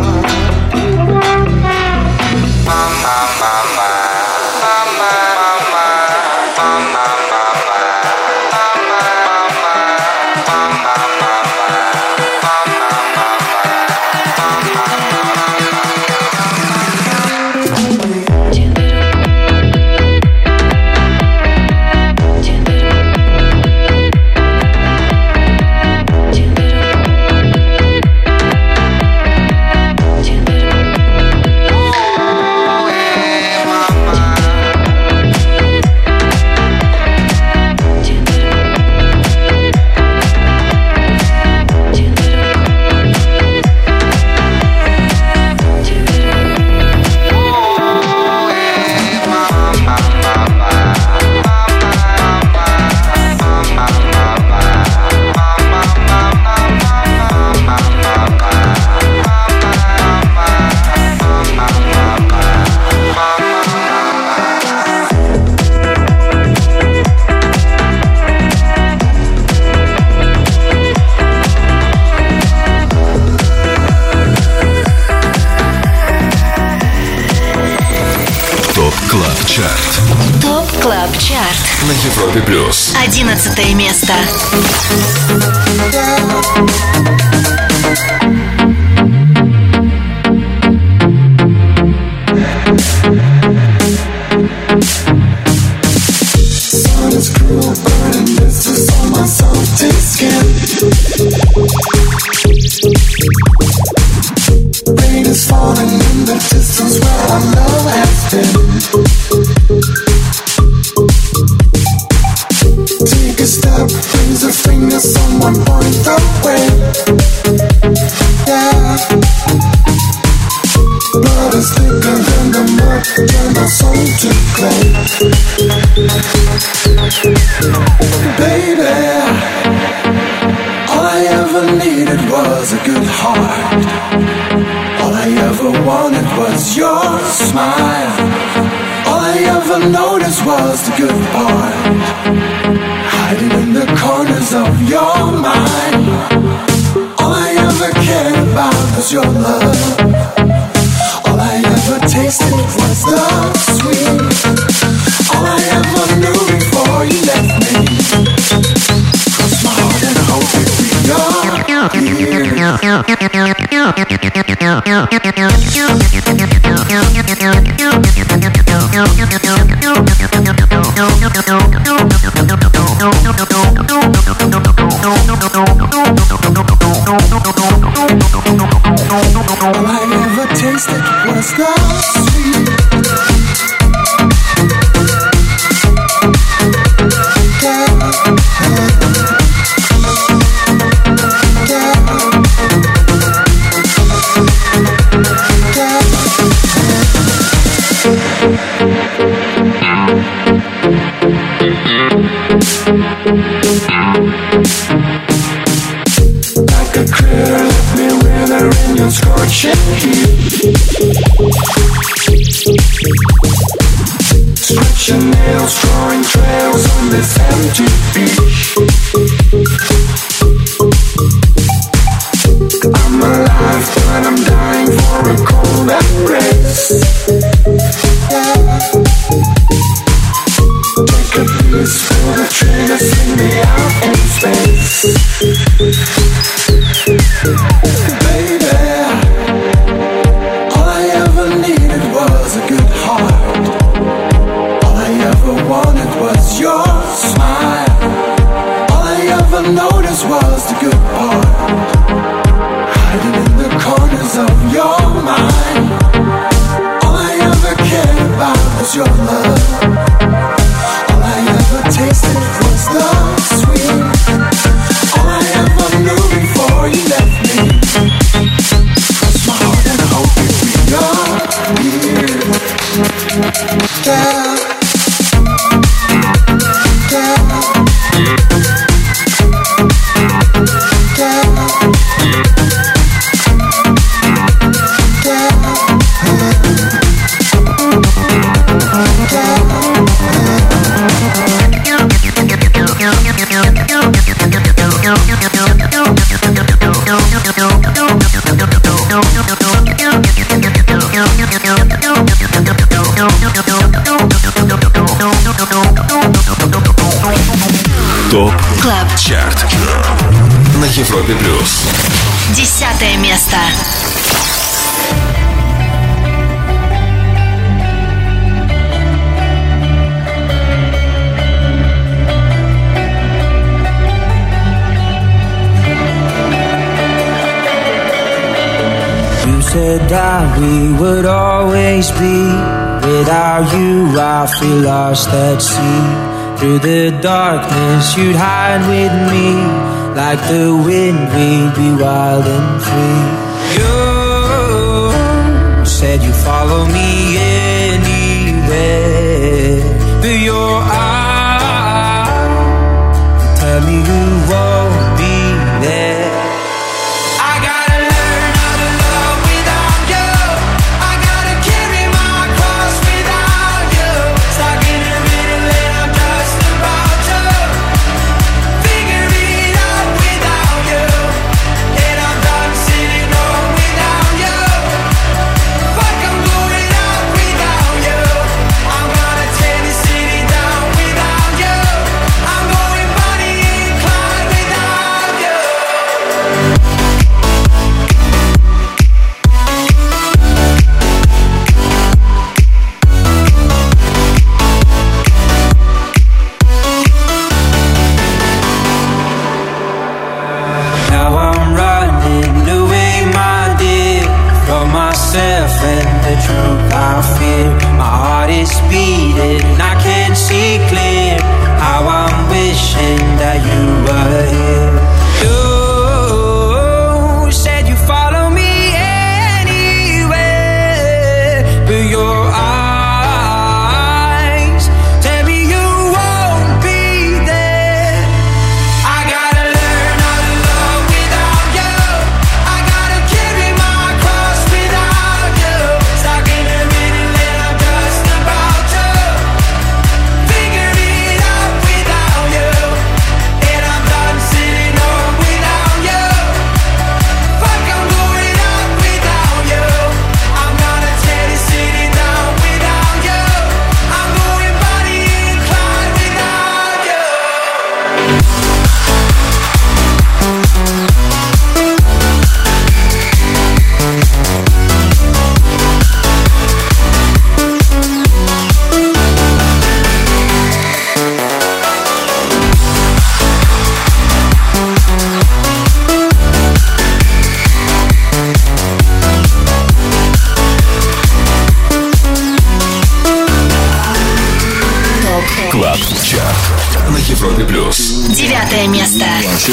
ТОП Клаб Чарт на Европе плюс. Одиннадцатое место. Rain is falling in the distance where our love has been. Take a step, raise a finger, someone point the way. Yeah. Blood is thicker than the mud, turn our soul to clay. Baby, all I ever needed was a good heart. All I ever wanted was your smile. All I ever noticed was the good part, hiding in the corners of your mind. All I ever cared about was your love. All I ever tasted was the sweet. All I ever knew before you left me. Cross my heart and hope it be all I ever tasted was the sweet. Like a critter, let me wither in your scorching heat. Stretch your nails, drawing trails on this empty beach. I'm alive, but I'm dying for a cold embrace. Yeah. Take a piece, pull the trigger, sing me out in space. Baby, all I ever needed was a good heart. All I ever wanted was your smile. All I ever noticed was the good part, hiding in the corners of your mind. All I ever cared about was your love. All I ever tasted was the sweet. All I ever knew before you left me. Cross my heart and hope it be your here. Yeah. Yeah. ТОП КЛАБ ЧАРТ на Европе плюс. Десятое место. You said that we would always be. Without you, I feel lost at sea. Through the darkness, you'd hide with me. Like the wind, we'd be wild and free. You said you'd follow me anywhere. But your eyes tell me you won't be there. Девятое место.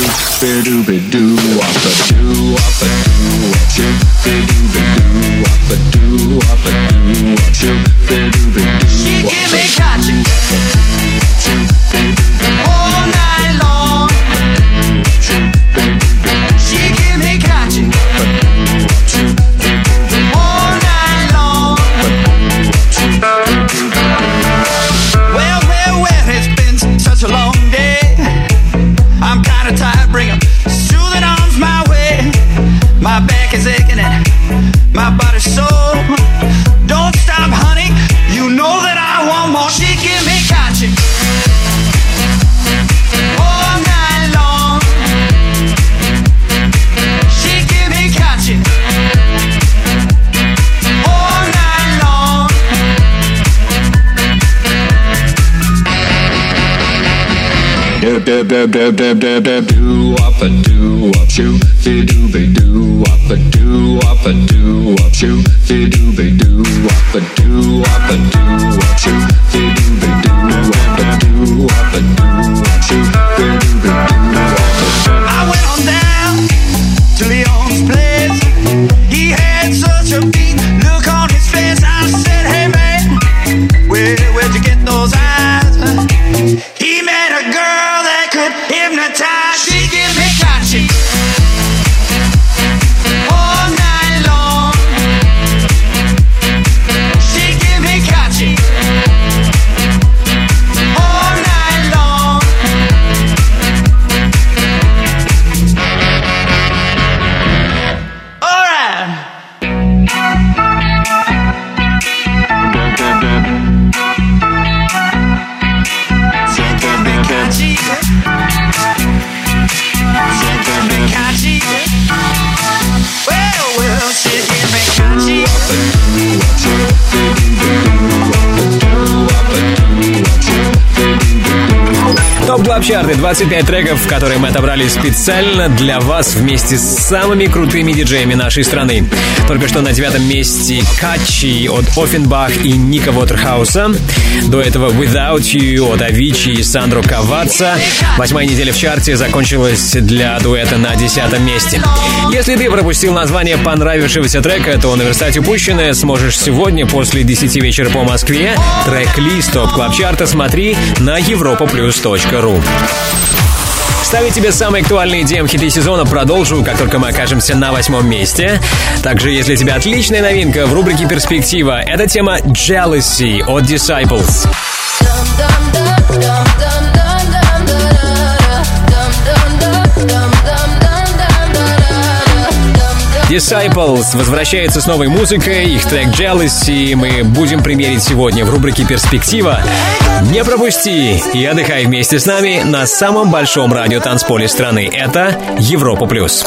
dub dub dub dub dub dub do up a do up shoot fi do be do up a do up a do up shoot fi do be do up a do up a do up shoot fi do be do up a do up a do up shoot fi do be do up a. I went on down to Leon's place. He had such a beat look on his face. I said, hey man, where where'd you get those eyes? He met a girl that could hypnotize. She give me catching all night long. Клаб Чарты, двадцать пять треков, которые мы отобрали специально для вас вместе с самыми крутыми диджеями нашей страны. Только что на девятом месте Качи от Оффенбах и Ника Уотерхауса. До этого Without You от Avicii и Сандро Каваца. Восьмая неделя в чарте закончилась для дуэта на десятом месте. Если ты пропустил название понравившегося трека, то наверстать упущенное сможешь сегодня после десяти вечера по Москве. Трек-лист ТОП Клаб Чарта смотри на европа плюс точка ру. Ставить тебе самые актуальные ди эм-хиты сезона продолжу, как только мы окажемся на восьмом месте. Также, если тебе отличная новинка в рубрике «Перспектива», это тема «Jealousy» от Disciples. Disciples возвращается с новой музыкой, их трек «Jealousy» мы будем примерить сегодня в рубрике «Перспектива». Не пропусти и отдыхай вместе с нами на самом большом радиотанцполе страны. Это Европа Плюс.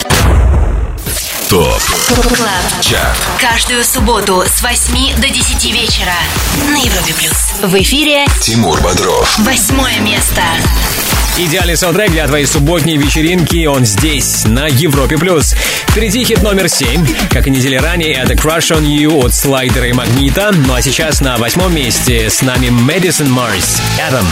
ТОП Клаб Чарт. Каждую субботу с восьми до десяти вечера на Европе Плюс. В эфире Тимур Бодров. Восьмое место. Идеальный саундтрек для твоей субботней вечеринки, он здесь, на Европе+. Впереди хит номер семь. Как и недели ранее, это Crush on You от Слайдера и Магнита. Ну а сейчас на восьмом месте с нами Madison Mars, Adam.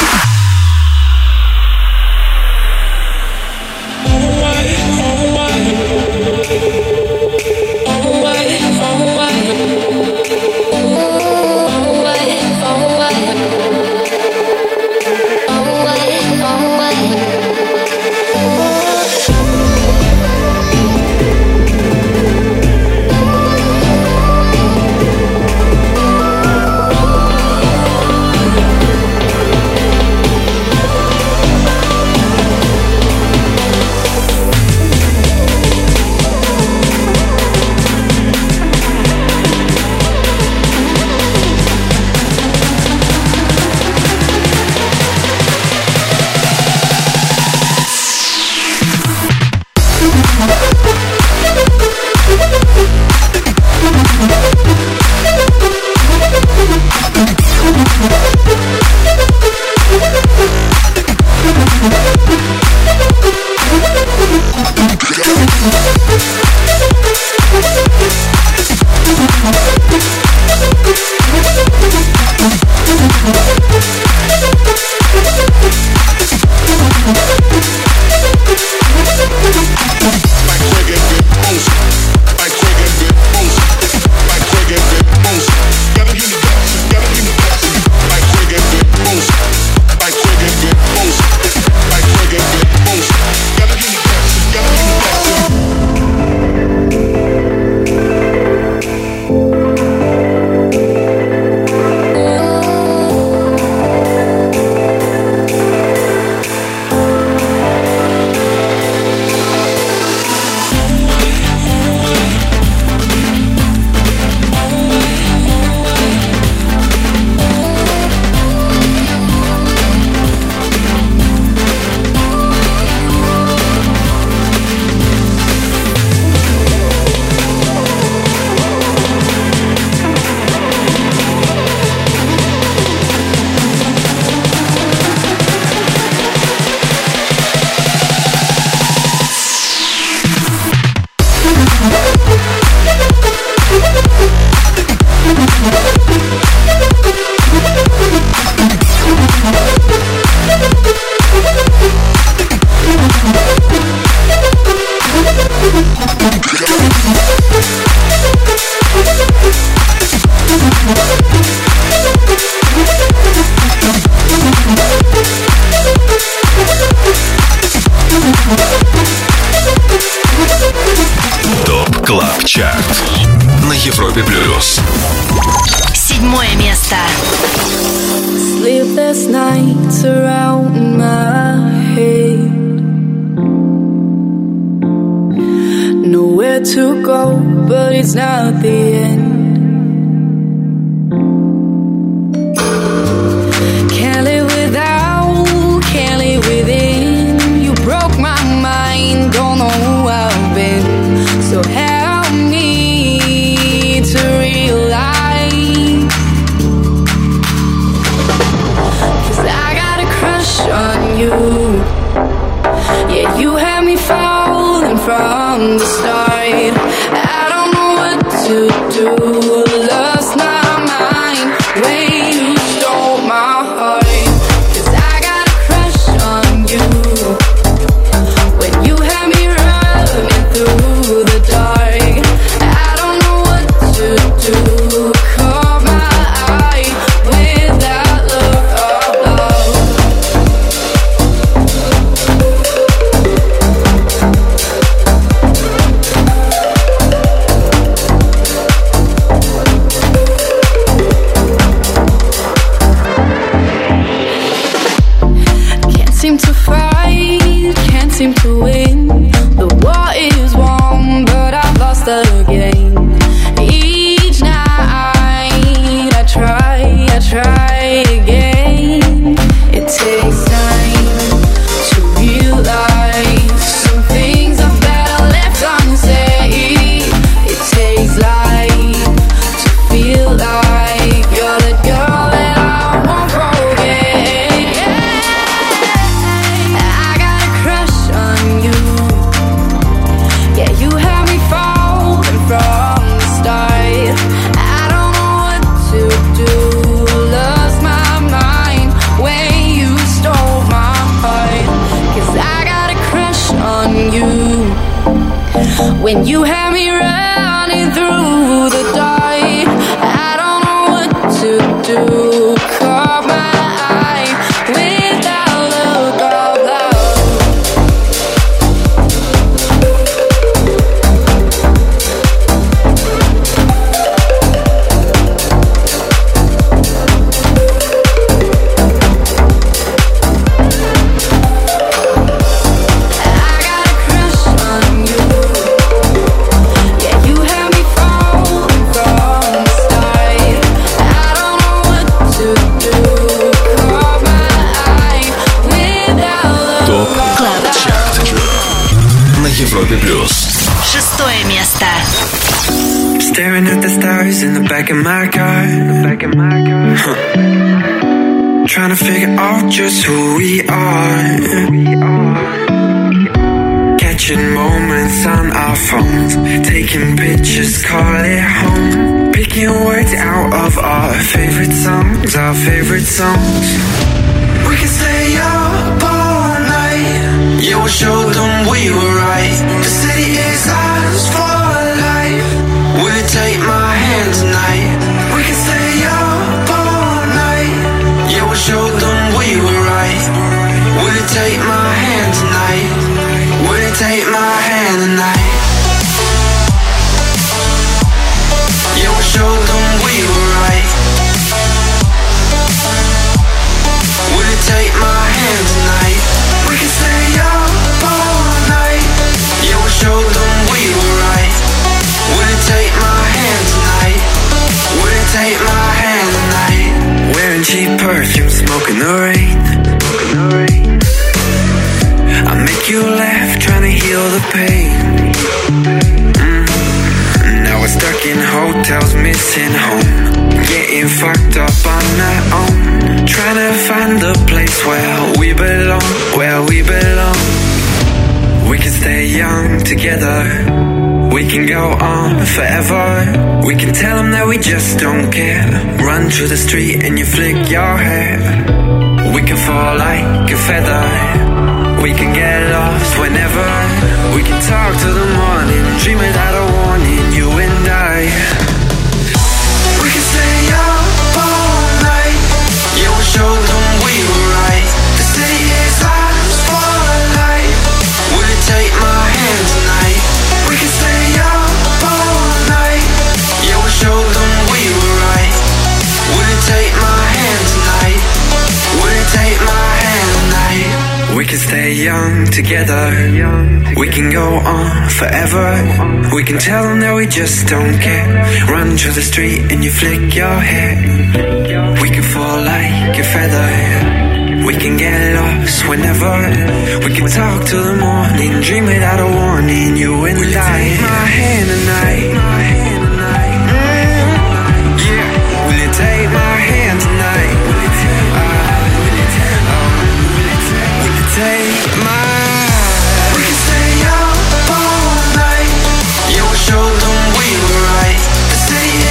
ТОП Клаб Чарт на Европе Плюс. Седьмое место. Sleepless nights around my head. Nowhere to go, but it's not the end. Can't live without, can't live within. You broke my mind, don't know who I've been. So help me to realize, 'cause I got a crush on you. Lost my mind when you stole my heart. 'Cause I got a crush on you. When you had me running through the dark, I don't know what to do. Caught my eye with that look of love. Can't seem to fight, can't seem to win. The war is won, but I've lost again. Each night I try, I try again. It takes time to realize some things are better left unsaid. It takes light to feel like you're the girl that I won't forget. I got a crush on you. Yeah, you had me falling from the start. I don't know what to do. Lost my mind when you stole my heart. 'Cause I got a crush on you. When you had me running through the dark, I don't know what to do. Caught my eye with that look of love. I got a crush on you. Yeah, you had me falling from the start. I don't know what to do. Caught my eye with that look ТОП Клаб ЧАРТ на Европе плюс. Шестое место. Staring at the stars in the back of my car. Back of my car. Huh. Trying to figure out just who we are. Catching moments on our phones. Taking pictures, call it home. Picking words out of our favorite songs. Our favorite songs. We can stay up all night. Yeah, we'll show them we were right. The city is ours for life. Will you take my hand tonight? We can stay up all night. Yeah, we'll show them we were right. Will you take my hand tonight? Will you take my hand tonight? Yeah, we'll show them we were right. Will you take my hand tonight? We can stay up all night. Yeah, we'll show them we were right. Will you take my hand tonight? Will you take my hand tonight? Wearing cheap perfume, smoking the rain. I make you laugh, trying to heal the pain. Mm. Now we're stuck in hotels, missing home. Getting fucked up on our own. Trying to find the place where we belong, where we belong. We can stay young together. We can go on forever. We can tell them that we just don't care. Run through the street and you flick your hair. We can fall like a feather. We can get lost whenever. We can talk till the morning. Dream without a warning, you and I. We can stay up all night. Yeah, we'll show them we were right. The city is ours for life. Will you take my hand tonight? We can stay up all night. Yeah, we'll show them we were right. Will you take my hand tonight? Will you take my hand tonight? We can stay young together. We can go on forever. We can tell them that we just don't care. Run through the street and you flick your hair. We can fall like a feather. We can get lost whenever. We can talk till the morning. Dream without a warning, you and Will I. Take my hand tonight. Mm, yeah. Will you take my hand tonight? Uh, will you take, uh, will you take my? We can stay up all night. Yeah, we'll show them we were right. The city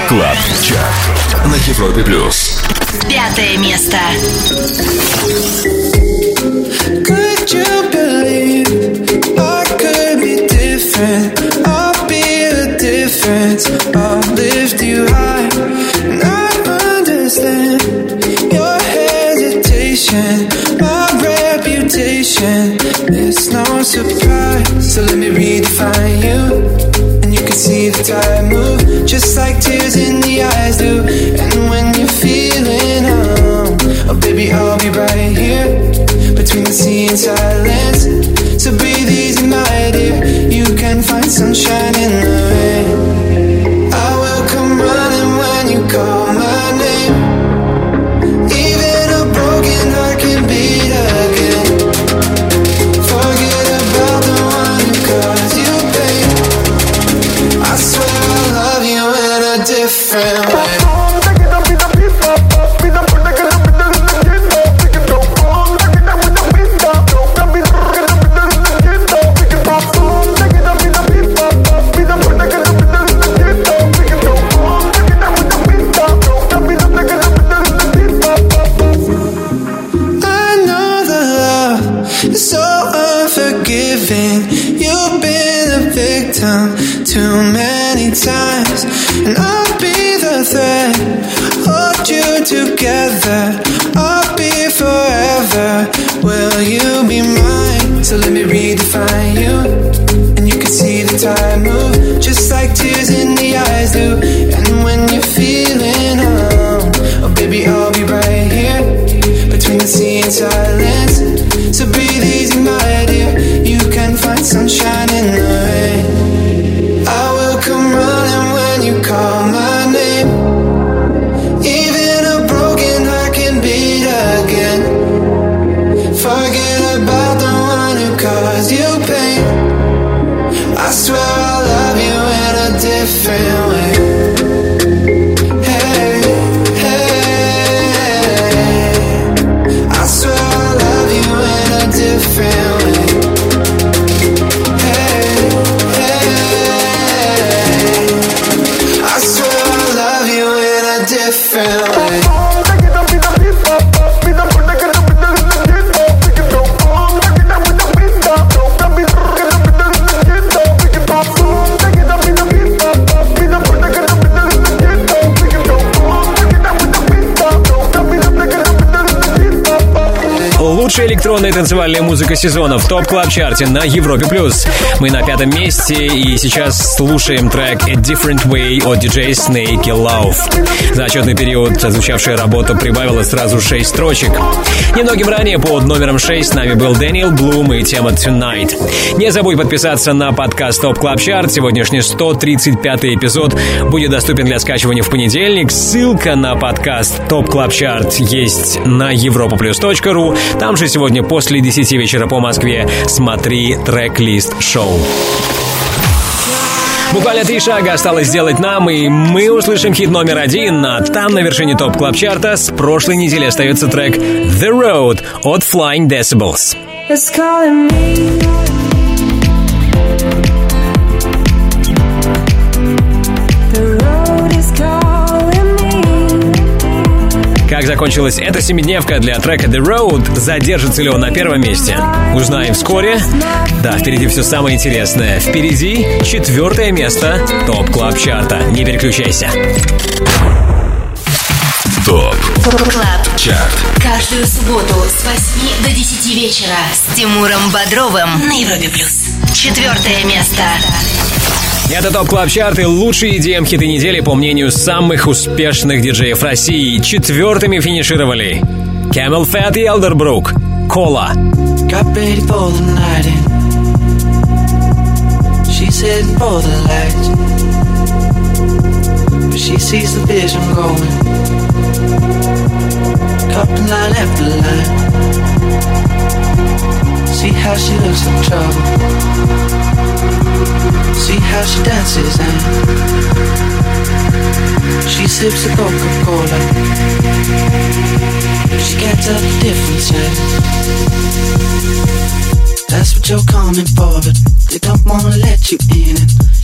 Клаб Чарт на Европе плюс. Пятое место. Could you believe I could be different? I'll be a difference. I'll lift you high. And I understand your hesitation, my reputation. It's no surprise. So let me redefine you. And you can see the tide move, just like tears in the eyes do. And when you're feeling home, oh baby, I'll be right here between the sea and silence. So breathe easy, my dear. You can find sunshine in the rain. I will come running when you call my name. Even a broken heart can beat again. Forget about the one who caused you pain. I swear I'll love you in a different way. Too many times, and I'll be the thread, hold you together. I'll be forever. Will you be mine? So let me redefine you, and you can see the tide move, just like tears in the eyes do. And when you're feeling home, oh baby, I'll be right here between the sea and silence. So breathe easy, my dear. You can find sunshine in the rain. I will come running when you call my name. Even a broken heart can beat again. Forget about the one who caused you pain. I swear I'll love you in a different way. Hey, hey, I swear I'll love you in a different way. Different way. Лучшая электронная танцевальная музыка сезона в ТОП Клаб Чарте на Европе плюс. Мы на пятом месте и сейчас слушаем трек A Different Way от диджея Snake и Love. За отчетный период звучавшая работа прибавила сразу шесть строчек. Немногим ранее под номером шесть с нами был Дэниел Блум и тема Tonight. Не забудь подписаться на подкаст ТОП Клаб Чарт. Сегодняшний сто тридцать пятый эпизод будет доступен для скачивания в понедельник. Ссылка на подкаст ТОП Клаб Чарт есть на европа плюс точка ру. Там же сегодня после десяти вечера по Москве смотри трек-лист шоу. Буквально три шага осталось сделать нам, и мы услышим хит номер один. А там на вершине ТОП Клаб Чарта с прошлой недели остается трек The Road от Flying Decibels. It's calling me. Как закончилась эта семидневка для трека The Road? Задержится ли он на первом месте? Узнаем вскоре. Да, впереди все самое интересное. Впереди четвертое место ТОП Клаб Чарта. Не переключайся. ТОП Клаб Чарт. Каждую субботу с восьми до десяти вечера с Тимуром Бодровым на Европе плюс. Четвертое место. Это ТОП Клаб Чарт и лучшие и ди эм-хиты недели по мнению самых успешных диджеев России. Четвертыми финишировали Camel Fat и Elderbrook. Кола. Got ready for the night in. She's heading for the lights, but she sees the vision going. Cupping line after line. See how she looks in trouble. See how she dances and she sips a Coca-Cola. She can't tell the difference yet. That's what you're coming for, but they don't wanna let you in. And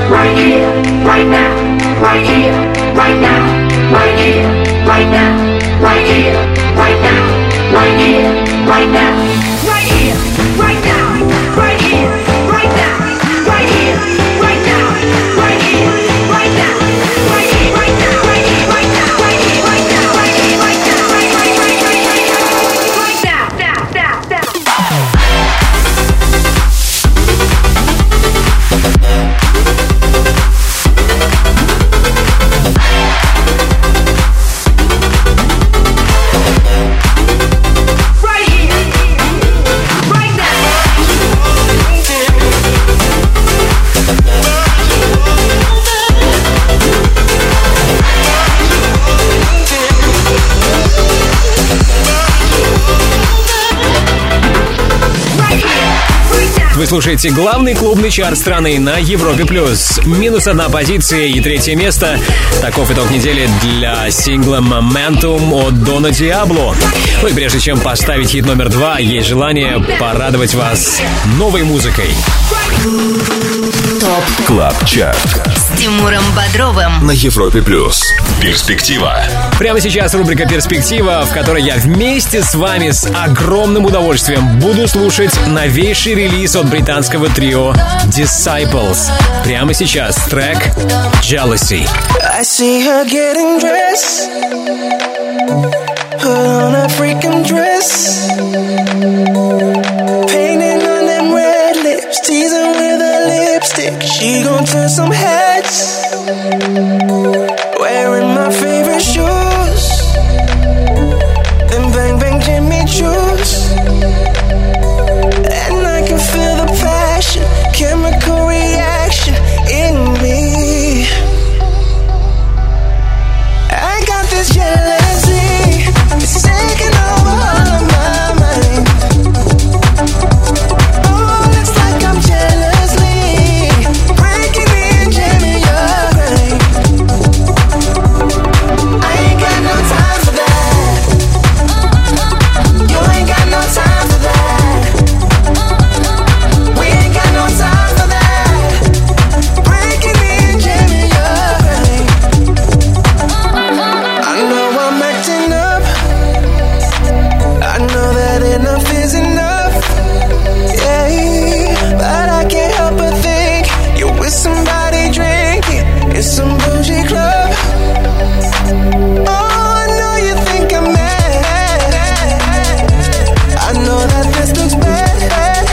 right here, right now, right here, right now, right here, right now, right here, right now, right here, right now, right here, right now, right here, right now, right here, right now, right here, right now, right here, right now, right here, right now, right here, right now, right here, right now, right, right, right, right, right, right now, now, now, now. Вы слушаете главный клубный чарт страны на Европе+. Минус одна позиция и третье место. Таков итог недели для сингла «Momentum» от Дона Диабло. Ну и прежде чем поставить хит номер два, есть желание порадовать вас новой музыкой. ТОП Клаб Чарт с Тимуром Бодровым на Европе+. Перспектива. Прямо сейчас рубрика «Перспектива», в которой я вместе с вами с огромным удовольствием буду слушать новейший релиз от британского трио Disciples. Прямо сейчас трек «Jealousy». I see her getting dressed, put on a freaking dress, painting on them red lips, teasing with her lipstick. She gon' turn some heads, wearing my favorite shoes, them bang bang Jimmy Choos, and I can feel the passion, chemical reaction in me. I got this jealousy, it's taking over all of my mind. Oh, looks like I'm jealously breaking me and jamming your brain. I ain't got no time for that. You ain't got no time for that. We ain't got no time for that. Breaking me and jamming your brain. I know I'm acting up, I know that enough is enough, yeah, but I can't help but think you're with somebody drinking in some bougie club. Oh, I know you think I'm mad, I know that this looks bad,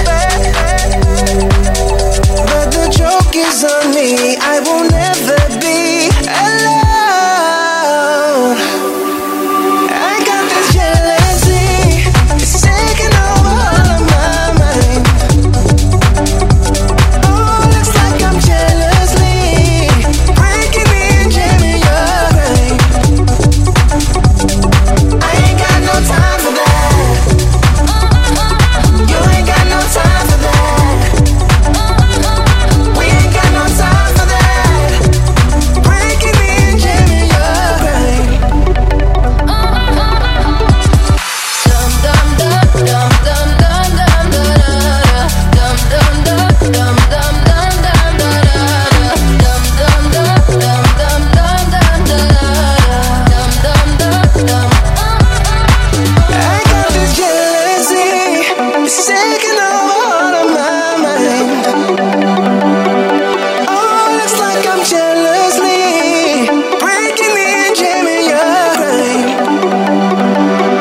but the joke is on me, I will never be alone. I got this jealousy, it's taking over all of my mind. Oh, looks like I'm jealously breaking me and jamming your brain. I ain't got no time for that. You ain't got no time for that. We ain't got no time for that. Breaking me and jamming your brain. I got this jealousy, it's taking over all of my mind. Oh, looks like I'm jealously breaking me and jamming your brain.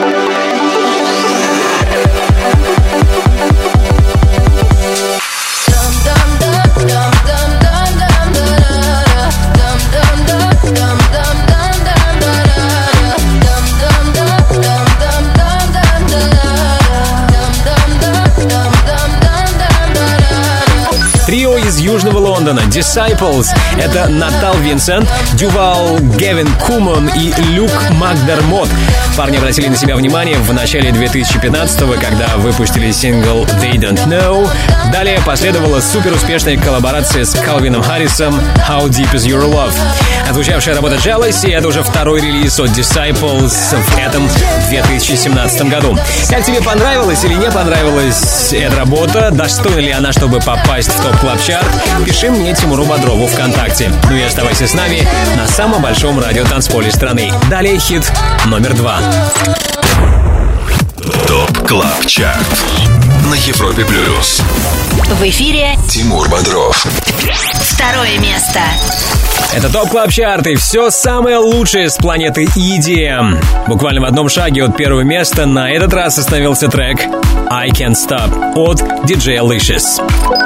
Трио из Южного Лондона Disciples — это Натал Винсент, Дювал Гевин Куман и Люк Макдермот. Парни обратили на себя внимание в начале две тысячи пятнадцатого, когда выпустили сингл They Don't Know. Далее последовала суперуспешная коллаборация с Калвином Харрисом How Deep Is Your Love. Отзвучавшая работа Jealousy — это уже второй релиз от Disciples в этом две тысячи семнадцатом году. Как тебе понравилась или не понравилась эта работа? Достойна ли она, чтобы попасть в топ клаб чарт? Пиши мне, Тимуру Бодрову, ВКонтакте. Ну и оставайся с нами на самом большом радиотанцполе страны. Далее хит номер два. ТОП КЛАБ ЧАРТ на Европе Плюс. В эфире Тимур Бодров. Второе место. Это ТОП КЛАБ ЧАРТ и все самое лучшее с планеты и ди эм. Буквально в одном шаге от первого места на этот раз остановился трек I Can't Stop от ди джей Alicious.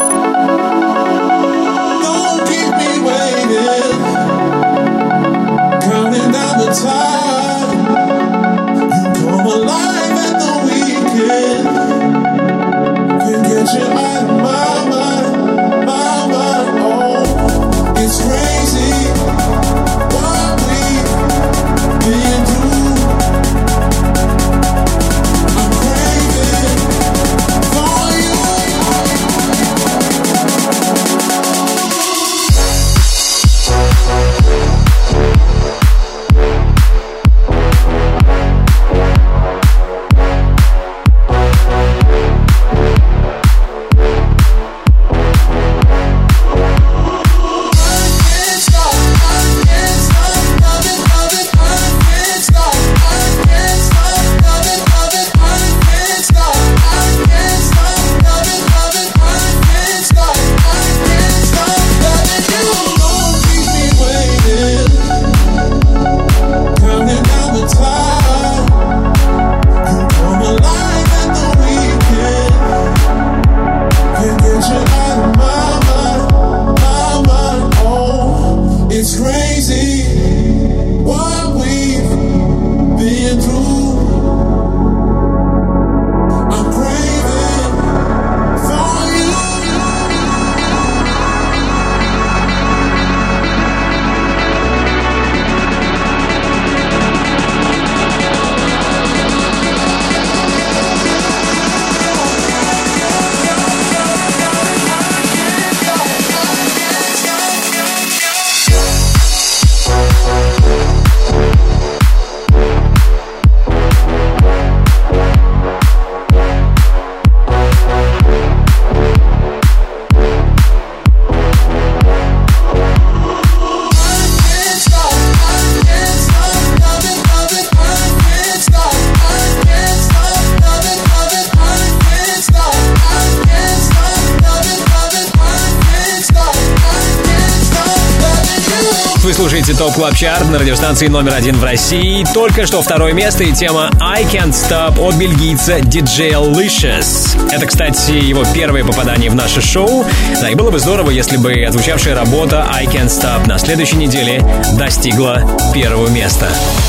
Вы слушаете ТОП КЛАБ ЧАРТ на радиостанции номер один в России. Только что второе место и тема I Can't Stop от бельгийца ди джей Alicious. Это, кстати, его первое попадание в наше шоу. Да, и было бы здорово, если бы отзвучавшая работа I Can't Stop на следующей неделе достигла первого места.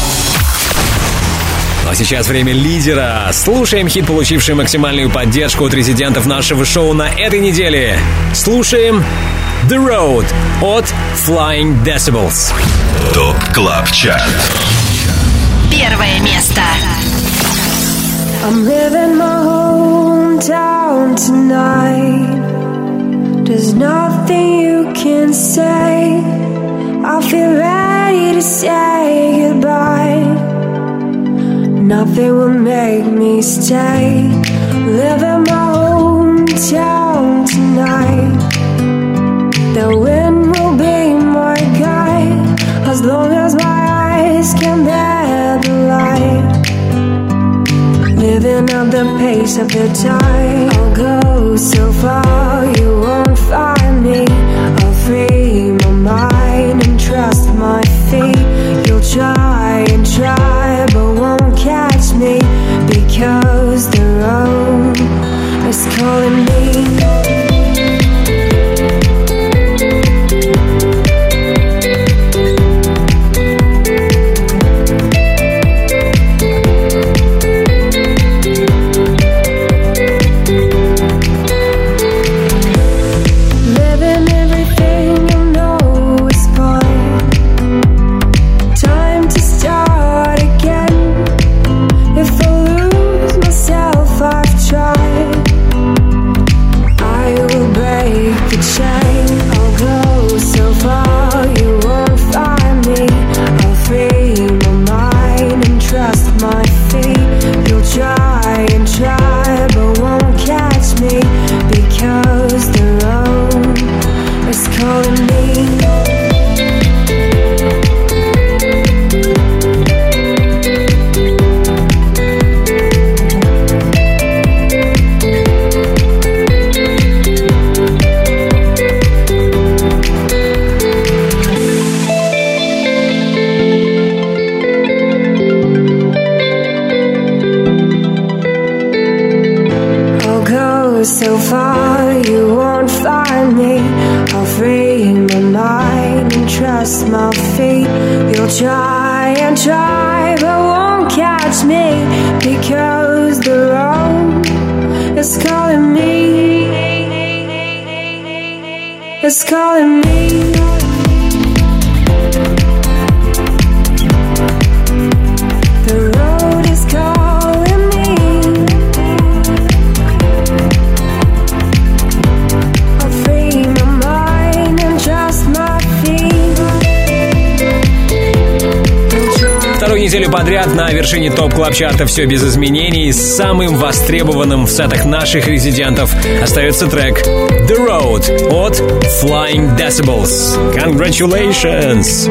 Ну а сейчас время лидера. Слушаем хит, получивший максимальную поддержку от резидентов нашего шоу на этой неделе. Слушаем The Road от Flying Decibels. ТОП КЛАБ ЧАРТ. Первое место. I'm leaving my hometown tonight. There's nothing you can say. I feel ready to say goodbye. Nothing will make me stay. Leaving my hometown tonight. The wind will be my guide as long as my eyes can bear the light. Living at the pace of the tide. I'll go so far you won't find me. I'll free my mind and trust my feet. You'll try and try but won't catch me because the road is calling me. can try but won't catch me, because the road is calling me. It's calling me. The road is calling me. I'll free my mind and trust my feet. Вторую неделю подряд на вершине топ-клаб-чарта «Все без изменений» самым востребованным в сетах наших резидентов остается трек «The Road» от Flying Decibels. Congratulations!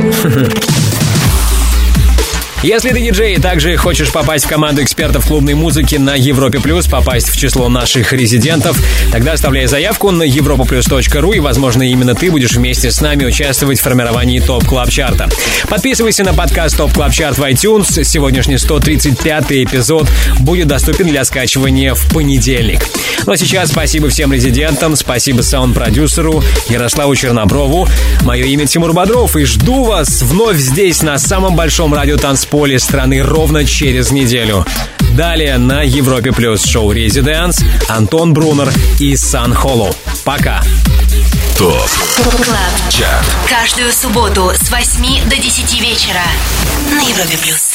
Если ты диджей и также хочешь попасть в команду экспертов клубной музыки на Европе Плюс, попасть в число наших резидентов, тогда оставляй заявку на европа плюс точка ру, и, возможно, именно ты будешь вместе с нами участвовать в формировании ТОП Клаб Чарта. Подписывайся на подкаст ТОП Клаб Чарт в iTunes. Сегодняшний сто тридцать пятый эпизод будет доступен для скачивания в понедельник. Ну а сейчас спасибо всем резидентам, спасибо саунд-продюсеру Ярославу Черноброву. Мое имя Тимур Бодров, и жду вас вновь здесь, на самом большом радиотанцполе страны, ровно через неделю. Далее на Европе Плюс шоу «Резиденс», Антон Брунер и Сан Холлоу. Пока. ТОП Клаб Чарт. Каждую субботу с восьми до десяти вечера на Европе Плюс.